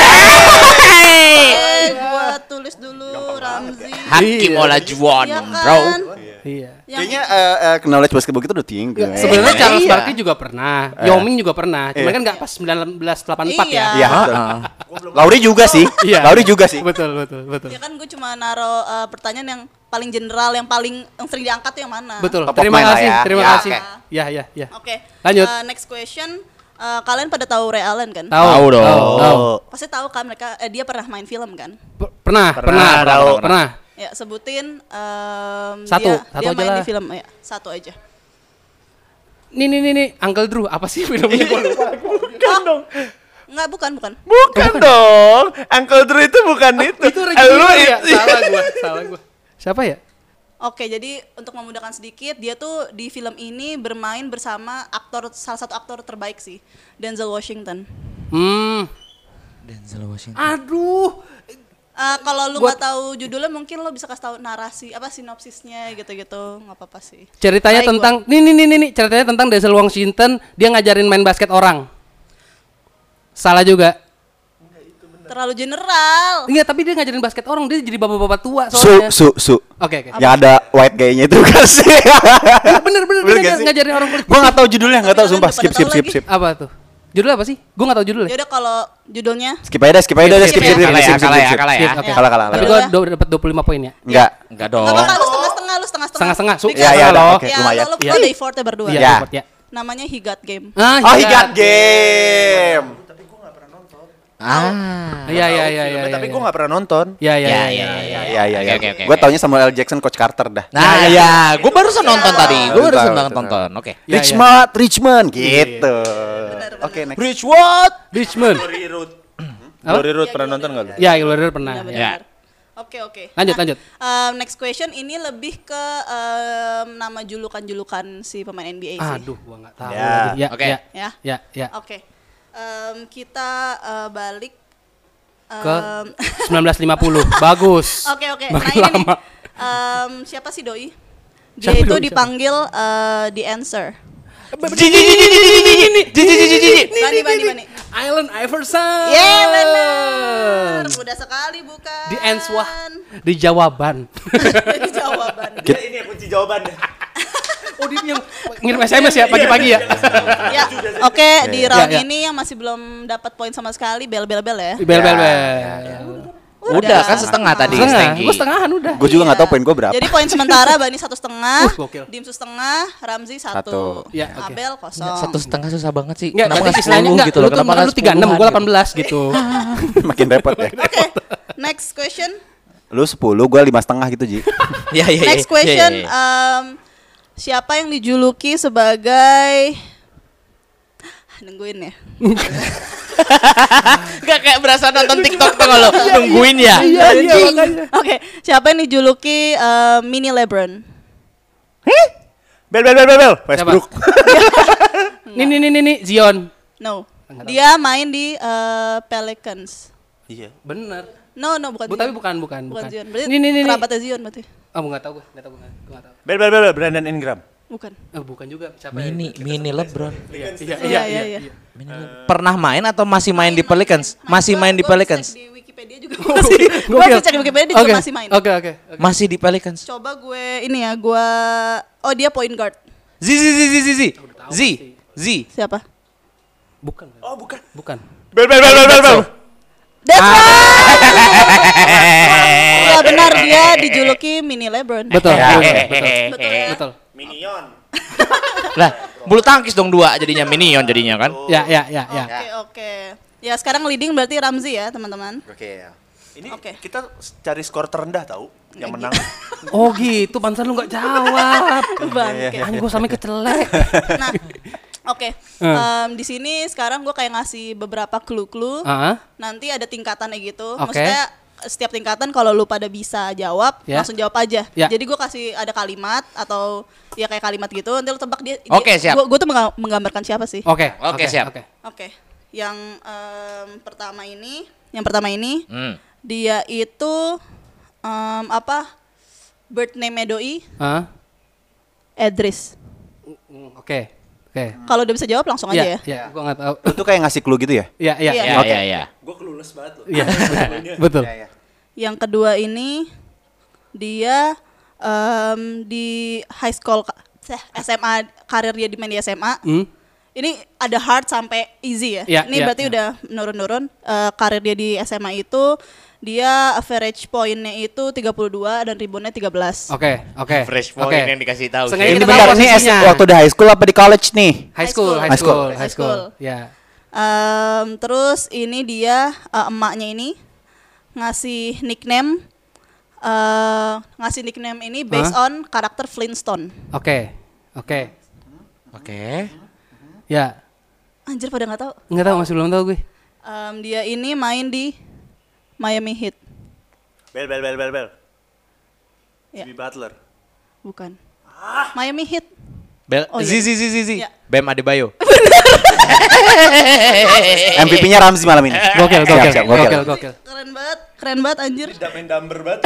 right. Gua tulis dulu Ramzi. Hakim Olajuwon, bro. Iya. Kayaknya knowledge basketball kita udah tinggi. Sebenarnya Charles Barkley juga pernah, Yao Ming juga pernah. Cuman kan enggak pas 1984 ya. Iya. Lauri juga sih. Betul. Ya kan gue cuma naro pertanyaan yang paling general, yang sering diangkat tuh yang mana. Betul. Top Terima of mind kasih. lah ya. Terima Ya, kasih. oke. Ya. Oke. Lanjut. Next question. Kalian pada tahu Ray Allen kan? Tahu dong. Pasti tahu kan dia pernah main film kan? Pernah. Ya, sebutin Satu dia aja main lah. di film ya, satu aja. Nih, Uncle Drew, apa sih filmnya? Bukan dong. Enggak, bukan. Bukan dong. Uncle Drew itu bukan itu. Itu Reggie ya? Salah gua. Siapa ya? Oke, jadi untuk memudahkan sedikit, dia tuh di film ini bermain bersama salah satu aktor terbaik sih, Denzel Washington. Denzel Washington. Aduh. Kalau lu nggak tahu judulnya, mungkin lo bisa kasih tahu narasi sinopsisnya gitu-gitu, nggak apa-apa sih. Ceritanya tentang nih, ceritanya tentang Denzel Washington, dia ngajarin main basket orang. Salah juga. Terlalu general. Enggak, tapi dia ngajarin basket orang, dia jadi bapak-bapak tua soalnya. Oke. Yang ada white guy-nya itu kan sih. Bener dia ngajarin orang kulit. Gua enggak tahu judulnya, enggak tahu sumpah. Skip. Apa tuh? Judulnya apa sih? Gua enggak tahu judulnya. Yaudah kalau judulnya Skip aja. Skip. Kalah ya. Tapi gua dapat 25 poin ya. Enggak dong. Enggak apa-apa, lu setengah-setengah. Setengah. Oke, lumayan. Lo play effortnya berdua. Iya. Namanya He Got Game. Oh, He Got Game. Iya. Tapi gue nggak pernah nonton. Iya. Oke. Gue taunya Samuel L. Jackson, Coach Carter dah. Nah, ya, gue barusan nonton tadi. Gue barusan nonton. Oke. Richmond gitu. Oke, next. Richmond. Glory Road pernah nonton nggak lu? Iya, Glory Road pernah. Benar. Oke. Lanjut. Next question ini lebih ke nama julukan si pemain NBA sih. Aduh, gua nggak tahu. Ya. Oke. Ya. Oke. Kita balik ke 1950. Bagus. Oke. Nah Makin ini lama. nih, siapa sih Doi? Dia itu dipanggil The Answer. Bani. Allen Iverson. Yeah, benar. Mudah sekali bukan? Di answer. Di jawaban. Di jawaban. Ini kunci jawabannya. Oh, dia yang ngirim SMS ya pagi-pagi ya. Ya, oke, di round ini yang masih belum dapat poin sama sekali bel ya. Bel. Udah kan setengah tadi. Gue setengahan udah. Gue juga nggak tahu poin gue berapa. Jadi poin sementara Bani 1,5, gokil. Dimsu 1,5, Ramzi 1, Ya, oke. Abel 0. 1,5 susah banget sih. Enggak, Kenapa berarti nggak istilahnya 10 enggak gitu loh? Kenapa lu 36, gue 18 gitu. Makin repot ya. Oke, next question. Lu 10, gue 5,5 gitu, Ji. Iya. Next question, siapa yang dijuluki sebagai nungguin ya? Gak kayak berasa nonton TikTok tuh kalau nungguin ya. Iya, makanya. Oke, siapa yang dijuluki mini LeBron? Bel. Westbrook. Nih, Zion. No. Dia main di Pelicans. Iya. Bener. No, bukan Zion. Tapi bukan. Bukan Zion. Berarti Nih. kerabatnya Zion berarti. Oh, enggak tahu gue. Bel. Brandon Ingram. Bukan. Oh, bukan juga. Siapa? Mini LeBron. Iya. Pernah main atau masih main di Pelicans? Masih main di Pelicans. Di Wikipedia juga masih. Gue cek di Wikipedia dia juga masih main. Oke. Masih di Pelicans. Coba gue dia point guard. Z. Siapa? Bukan. Oh, bukan. Bel. That's right. Ya benar, dia dijuluki mini LeBron. Betul. Minion. Lah, bulu tangkis dong 2 jadinya minion jadinya kan. Ya. Oke. Ya sekarang leading berarti Ramzi ya teman-teman. Oke ya. Ini kita cari skor terendah tahu yang menang. Oh gitu, pantesan lu nggak jawab. Bangke. Anjing gue sampe kecelek. Nah, oke. Di sini sekarang gue kayak ngasih beberapa clue-clue. Nanti ada tingkatannya gitu. Maksudnya setiap tingkatan kalau lu pada bisa jawab, langsung jawab aja. Jadi gue kasih ada kalimat atau ya kayak kalimat gitu. Nanti lu tebak dia. Oke, siap. Gue tuh menggambarkan siapa sih? Oke, siap. Oke. Yang pertama ini, dia itu birth name doi? Edris. Oke. Kalau udah bisa jawab langsung aja ya. Iya, gua enggak tahu. Itu kayak ngasih clue gitu ya? Iya. Gue clueless banget loh. Iya. Betul. Yang kedua ini dia di high school SMA, karir dia di main di SMA. Ini ada hard sampai easy ya. Ini berarti udah menurun-nurun. Karir dia di SMA itu dia average poinnya itu 32 dan reboundnya 13. Oke. Fresh point yang dikasih tahu. Sengaja Ini bentar, ini waktu di high school apa di college nih? High school. Ya. Terus ini dia emaknya ini ngasih nickname ini based on karakter Flintstone. Oke. Ya. Anjir pada nggak tahu. Nggak tahu, masih belum tahu gue. Dia ini main di Miami Heat. Bel. Ya. Jimmy Butler. Bukan. Miami Heat. Zizi. Ya. Bam Adebayo. MVP-nya Ramzi malam ini. Gokil. Keren banget anjir. Main dumber banget.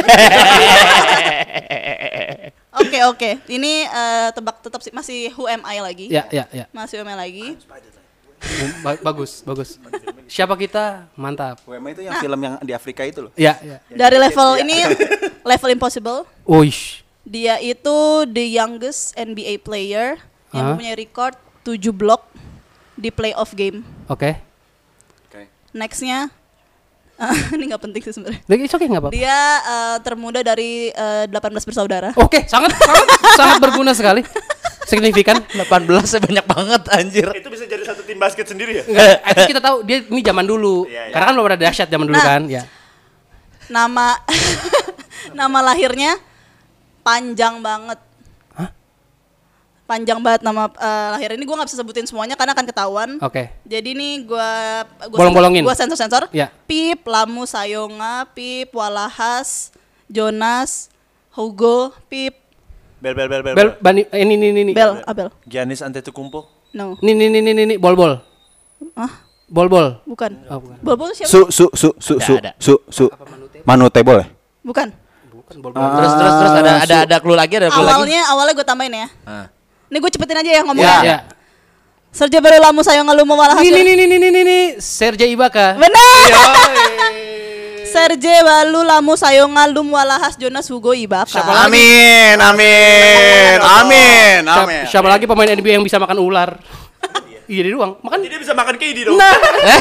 Oke. Ini tebak tetap masih Who Am I lagi. Ya. Masih Who Am I lagi. Bagus. Siapa kita? Mantap. WM itu yang film yang di Afrika itu loh. Ya. Dari level ini, level impossible. Uish. Dia itu the youngest NBA player yang mempunyai record 7 block di playoff game. Oke. Nextnya, ini nggak penting sih sebenarnya. It's okay, nggak apa-apa. Dia termuda dari 18 bersaudara. Oke, sangat berguna sekali. Signifikan. 18 banyak banget anjir. Itu bisa jadi satu tim basket sendiri ya? Itu kita tahu dia ini zaman dulu. Karena kan belum ada dahsyat zaman dulu kan. Ya. Nama lahirnya panjang banget. Panjang banget nama lahir ini, gue nggak bisa sebutin semuanya karena akan ketahuan. Oke. Jadi nih gue bolong-bolongin. Gue sensor. Ya. Pip, Lamu Sayonga, Pip, Walahas, Jonas, Hugo, Pip. Bel. Bani ini. Bel, Abel. Giannis Antetokounmpo. No. Ini bol-bol. Bol-bol. Bukan. Oh, bukan. Bol-bol siapa? Su. Manute boleh? Bukan. Terus ada clue lagi, Awalnya gue tambahin ya. Ini gue cepetin aja ya ngomongnya. Ya. Sergio Baru Lamu Sayonga Lumo Walahas. Ini Serge Ibaka. Benar. Serge Balu Lamu Sayonga Lum Walahas Jonas Hugo Ibaka. Amin. Siapa lagi pemain NBA yang bisa makan ular? Iya dia doang. Makan. Jadi dia bisa makan KD dong. Nah.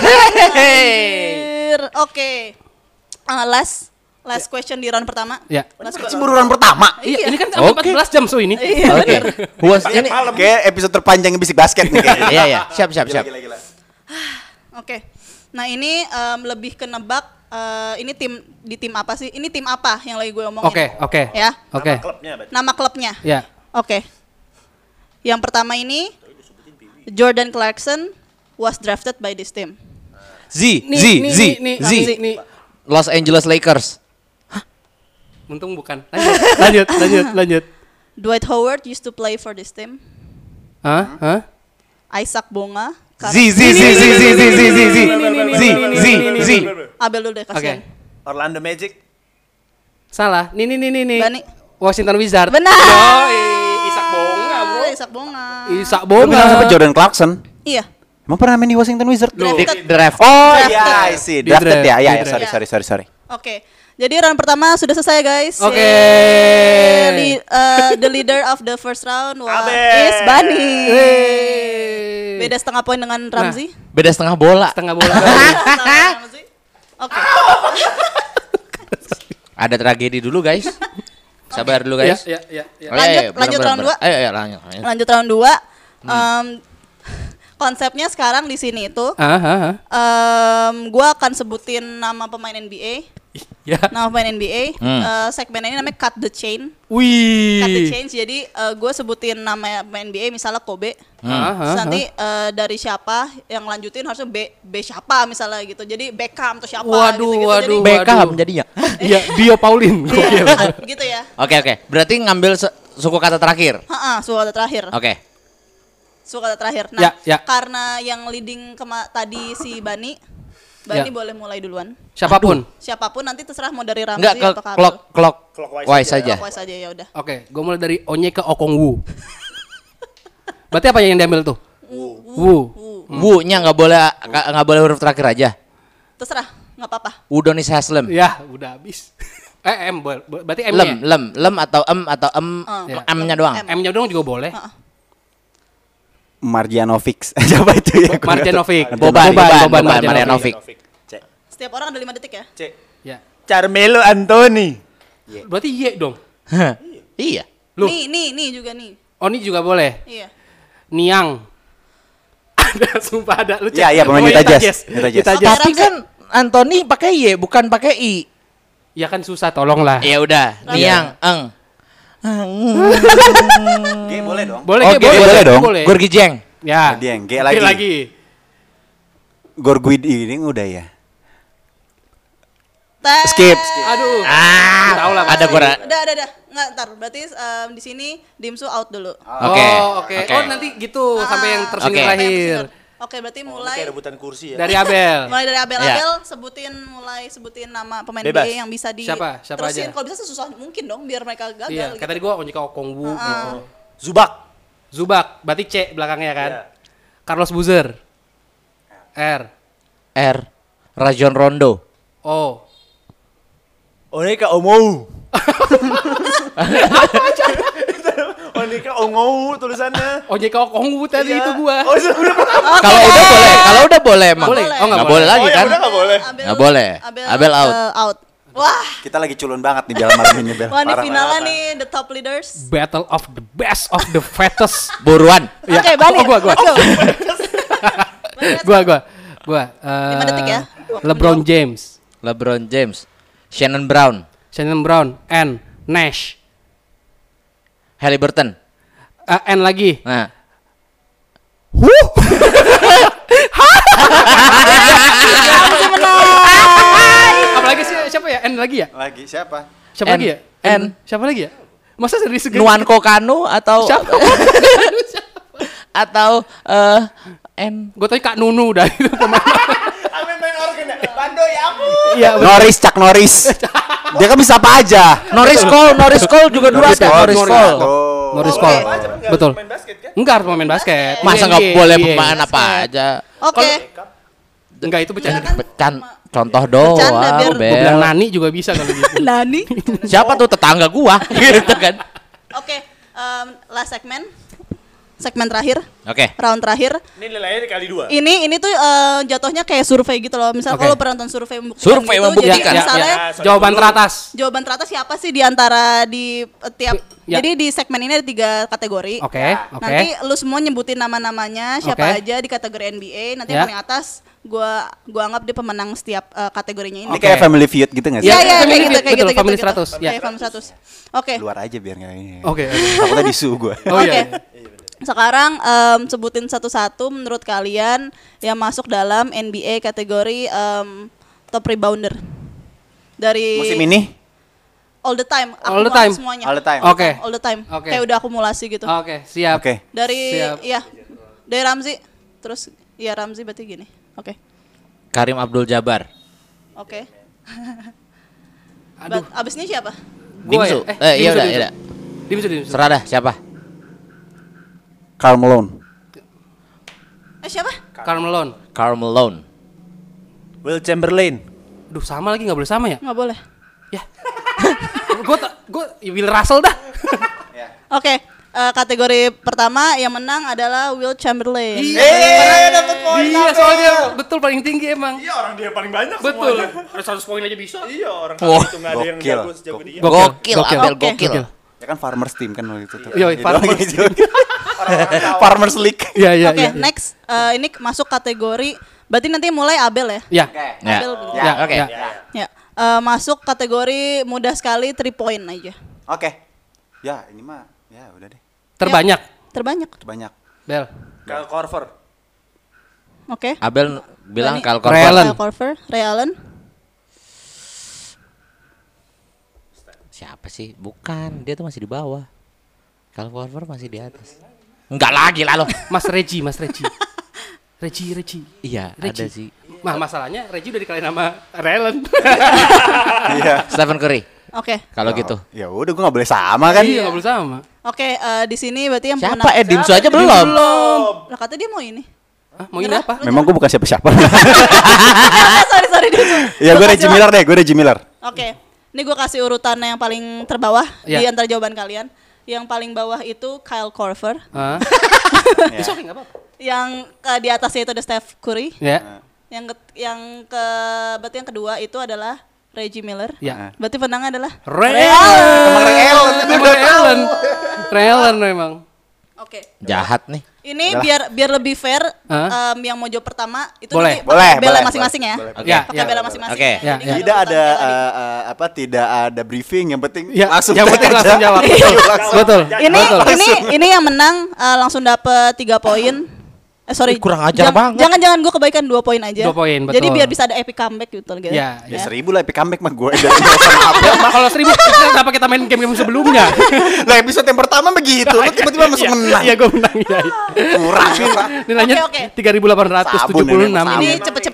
Oke. Last question di round pertama. Ya. Baru round pertama. Iya, ini kan 14 jam ini. Oke. Ini kayak episode terpanjang Bisik Basket nih kayaknya. Iya. Siap. Gila. Oke. Nah, ini lebih ke nebak ini tim apa sih? Ini tim apa yang lagi gue omongin? Oke. Ya. Oke. Nama klubnya. Ya. Oke. Yang pertama ini Jordan Clarkson was drafted by this team. Z. Los Angeles Lakers. Untung bukan. Lanjut. Dwight Howard used to play for this team. Hah? Isaac Bonga. Z. Abel dulu deh, kasihan. Orlando Magic. Salah. Nih. Bani. Washington Wizards. Benar. Isaac Bonga, bro. Isaac Bonga. Lu bilang sampai Jordan Clarkson. Iya. Emang pernah main di Washington Wizards? Draft. Oh iya, I see. Drafted ya. Iya, sorry. Oke. Jadi round pertama sudah selesai, guys. Oke. The leader of the first round is Abel. Bani. Beda setengah poin dengan Ramzi. Beda setengah bola. Setengah bola. Oke. Ada tragedi dulu guys. Sabar dulu guys. Ya. Lanjut round 2. Ayo Lanjut round 2. Konsepnya sekarang di sini itu, gue akan sebutin nama pemain NBA. Ya. Nama pemain NBA. Segmen ini namanya Cut the Chain. Wih. Cut the Chain. Jadi gue sebutin nama pemain NBA, misalnya Kobe. Terus nanti dari siapa yang lanjutin harusnya B siapa misalnya gitu. Jadi Beckham atau siapa. Waduh. Beckham jadinya. Iya, Bio Paulin. Gitu ya. Oke. Berarti ngambil suku kata terakhir. Suku kata terakhir. Oke. Suku kata terakhir. Nah, Ya. karena yang leading tadi si Bani boleh mulai duluan. Siapapun nanti terserah mau dari Ramzi Enggak, atau Karlo. clockwise saja. Clockwise aja ya udah. Oke, gue mulai dari Onyeka Okongwu. Berarti apa yang diambil tuh? Wu. Wu-nya nggak boleh huruf terakhir aja. Terserah, nggak apa-apa. Udonis Haslem. Ya, udah habis. M, berarti M-nya. Lem atau M-nya doang. M-nya doang juga boleh. Marjanovic. Siapa itu ya? Boban Marjanovic. Setiap orang ada 5 detik ya? C. Ya. Carmelo Anthony. Berarti Y dong. Iya. Loh. Nih juga nih. Oh, ini juga boleh. Iya. Niang. Ada, sumpah ada. Lu cek. Iya, pemain Utah Jazz. Tapi kan Anthony pakai Y bukan pakai I. Ya kan susah, tolonglah. Ya udah, Niang, G boleh dong. Boleh dong. Gorgi Jeng. Ya. G lagi. Gorguid ini udah ya. Skip. Aduh. Tahu lah. Ada gua. Udah. Nggak, ntar. Berarti di sini Dimsu out dulu. Oke. Oh, nanti gitu sampai yang tersinggung terakhir. Oke, berarti mulai Kayak rebutan kursi ya. Dari Abel. Mulai dari Abel, sebutin nama pemain NBA yang bisa di Siapa terusin. aja? Kalau bisa sesusah mungkin dong biar mereka gagal. Iya, gitu. kayak tadi gua Onyeka Okongwu gitu. Zubak. Berarti C belakangnya kan. Carlos Boozer. R. Rajon Rondo. O. Onyeka Ongou. Onyeka Ongou tulisannya. Onyeka Okongwu tadi itu gua. Kalau udah boleh emang. Boleh. Oh, nggak boleh lagi kan? Nggak boleh. Nggak boleh. Abel out. Wah. Kita lagi culun banget nih Bel malam ini Bel. Wah, ini finalnya nih the top leaders. Battle of the best of the fattest. Buruan. Oke, Bani. Gua. Gua. 5 detik ya. LeBron James. Shannon Brown. N. Nash. Halliburton. N lagi. Nah. Apalagi siapa ya? N lagi ya? Lagi siapa? Siapa lagi ya? Siapa lagi ya? Masa serius segini? Nuanko Kanu atau Siapa? atau N. Gue tanya Kak Nunu dah itu pemain. Amin main organ ya. Bando ya aku. Iya. Chuck Norris. Dia kan bisa apa aja. Norris Cole juga dulu ada. Norris Cole. Betul. Enggak harus main basket. Masa nggak boleh pemain apa aja? Oke. Enggak, itu bercanda. Contoh doang. Bercanda, Gue bilang Nani juga bisa kalau gitu. Nani. Siapa tuh tetangga gua gitu kan. Oke, last segmen terakhir. Oke. Round terakhir. Ini nilainya dikali 2. Ini tuh jatuhnya kayak survei gitu loh. Misal kalau pernah nonton survei membuktikan. Jadi misalnya Jawaban teratas. jawaban teratas siapa sih di antara di tiap. Jadi di segmen ini ada 3 kategori. Oke. Nanti lu semua nyebutin nama-namanya siapa aja di kategori NBA. Nanti yang paling atas gua anggap dia pemenang setiap kategorinya ini. Ini kayak Family Feud gitu nggak sih? Iya, kayak gitu. Family 100. Kayak Family 100. Oke. Luar aja biar nggak ini. Oke. Takutnya disu gue. Oke. Sekarang sebutin satu-satu menurut kalian yang masuk dalam NBA kategori top rebounder dari Musim ini? all the time. All the time. Semuanya. All the time. Oke. All the time. Oke. Kayak udah akumulasi gitu. Oke, siap. Oke. Dari Siap. dari Ramzi terus Ramzi berarti gini. Oke. Karim Abdul Jabbar. Oke. Aduh. Abis ini siapa? Gua Dimsu. ya? Iya udah. Dimsu. Serah dah siapa? Karl Malone. Siapa? Karl Malone. Will Chamberlain. Duh, sama lagi, nggak boleh sama ya? Nggak boleh. Ya. Gue Will Russell dah. Oke. kategori pertama yang menang adalah Will Chamberlain. Dapat poin. Iya, soalnya betul paling tinggi emang. Iya, orang dia paling banyak betul. semuanya. Ada 100 poin aja bisa. Iya, orang itu enggak ada yang jago sejago dia. Gokil. Ya kan Farmers Team kan waktu itu tuh. Iya, Farmers Team. Farmers League. Iya. Oke, next ini masuk kategori berarti nanti mulai Abel ya? Iya. Abel. Oke. Ya. Masuk kategori mudah sekali 3 point aja. Oke. Ya, ini mah ya udah deh. Terbanyak. Terbanyak. Bel. Kyle Korver. Oke. Abel bilang Berani. Kyle Ray Allen. Kyle Korver, Ray Allen. Siapa sih? Bukan, dia tuh masih di bawah. Kyle Korver masih di atas. Enggak lagi lah lo. Mas Reggie. Reggie. Iya, Reggie. ada sih. Masalahnya Reggie udah dikalahin sama Ray Allen. Iya. Stephen Curry. Oke. Kalau gitu. Ya udah gue enggak boleh sama kan. Iya, enggak boleh sama. Oke, di sini berarti yang Siapa? Dimsu aja belum. Lah kata dia mau ini. Mau ini apa? Memang gue bukan siapa-siapa. sorry. Ya gue Reggie Miller deh, Oke. Ini gue kasih urutan yang paling terbawah Ya. di antara jawaban kalian. Yang paling bawah itu Kyle Korver. It's okay, enggak apa-apa. Yang di atasnya itu ada Steph Curry. Ya. Berarti yang kedua itu adalah Reggie Miller. Ya. Berarti penangnya adalah Ray Allen memang. Oke. Jahat nih. Ini biar lebih fair, yang mau jawab pertama itu Boleh. nanti pakai bela Boleh. masing-masing ya. Ya, Pakai bela masing-masing. Oke. Jadi nggak Tidak urutan ada bela gitu. tidak ada briefing, yang penting Ya, langsung yang penting aja. langsung jawab. Betul. Ini yang menang langsung dapat 3 poin. Sorry. Kurang ajar banget. Jangan gue kebaikan 2 poin aja. 2 poin, betul. Jadi biar bisa ada epic comeback gitu gitu. Ya. Ya 1000 lah epic comeback mah gue dari sama Abel. Kalau 1000 kenapa kita main game sebelumnya? Lah episode yang pertama begitu, lu tiba-tiba masuk menang. Iya, gue menang ya. Kurang. Nilainya Oke. 3.876. Ini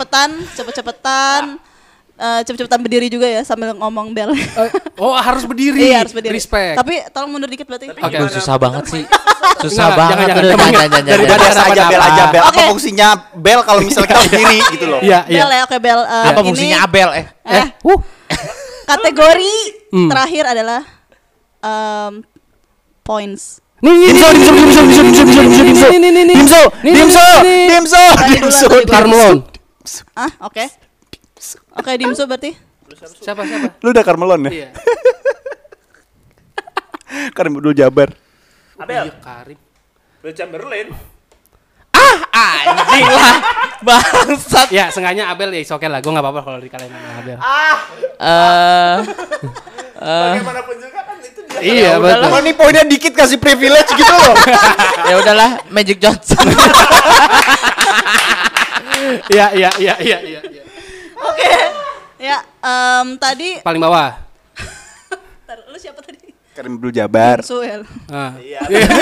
cepet-cepetan berdiri juga ya sambil ngomong bel. Oh, harus berdiri. Iya, harus berdiri. Respect. Tapi tolong mundur dikit berarti. Oke. Aduh, susah banget sih. Susah Enggak, banget. jangan. Jangan. Daripada Biasa aja harapan bel apa. aja bel. Apa Oke. fungsinya bel kalau misalnya kita berdiri gitu loh. Iya. Bel ya, oke bel. Apa fungsinya Abel? Kategori terakhir adalah points. Dimso. Carmelon. Oke. Oke, Dimsu berarti. Siapa? Lu udah Carmelon ya? Iya. Karim Abdul Jabbar. Abel. Karim. Will Chamberlain. Anjing lah. Bangsat. Ya, sengaja Abel ya, oke lah. Gue enggak apa-apa kalau dikalahin sama Abel. Bagaimanapun juga kan itu dia. Iya, betul. Oh, ini poinnya dikit kasih privilege gitu loh. Ya udahlah, Magic Johnson. Iya. Oke. Ya, tadi Paling bawah. lu siapa tadi? Karim Abdul Jabbar. Dimsu ya. Iya.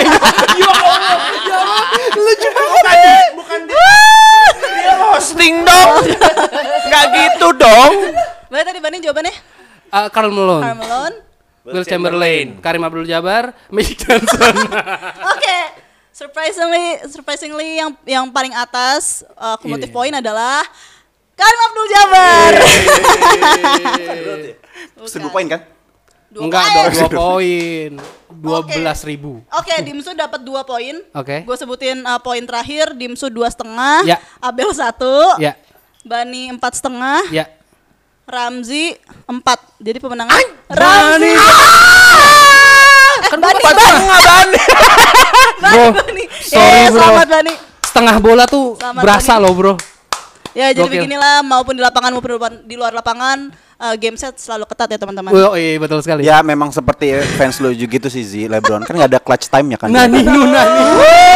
Lu juga bukan dia Hosting dong. Enggak gitu dong. Berarti tadi banding jawabannya Carmelon. Carmelon. Will Chamberlain, Karim Abdul Jabbar, Magic Johnson. Oke. Surprisingly yang paling atas cumulative point adalah Karim Abdul Jabbar. 1000 poin kan? Enggak, 2 poin. 12.000. Oke, Dimsu dapat 2 poin. Oke. Gue sebutin poin terakhir, Dimsu 2,5, Ya. Abel 1, Ya. Bani 4,5, Ya. Ramzi 4. Jadi pemenangnya Ramzi. Kan Bani. Bro, sorry bro. Selamat Bani. Setengah bola tuh Selamat, berasa Bani. loh bro. Ya jadi Gokil. beginilah maupun di lapangan maupun di luar lapangan game set selalu ketat ya teman-teman. Oh iya betul sekali. Ya memang seperti fans lu juga gitu sih Zi, LeBron kan nggak ada clutch time-nya kan. Nani.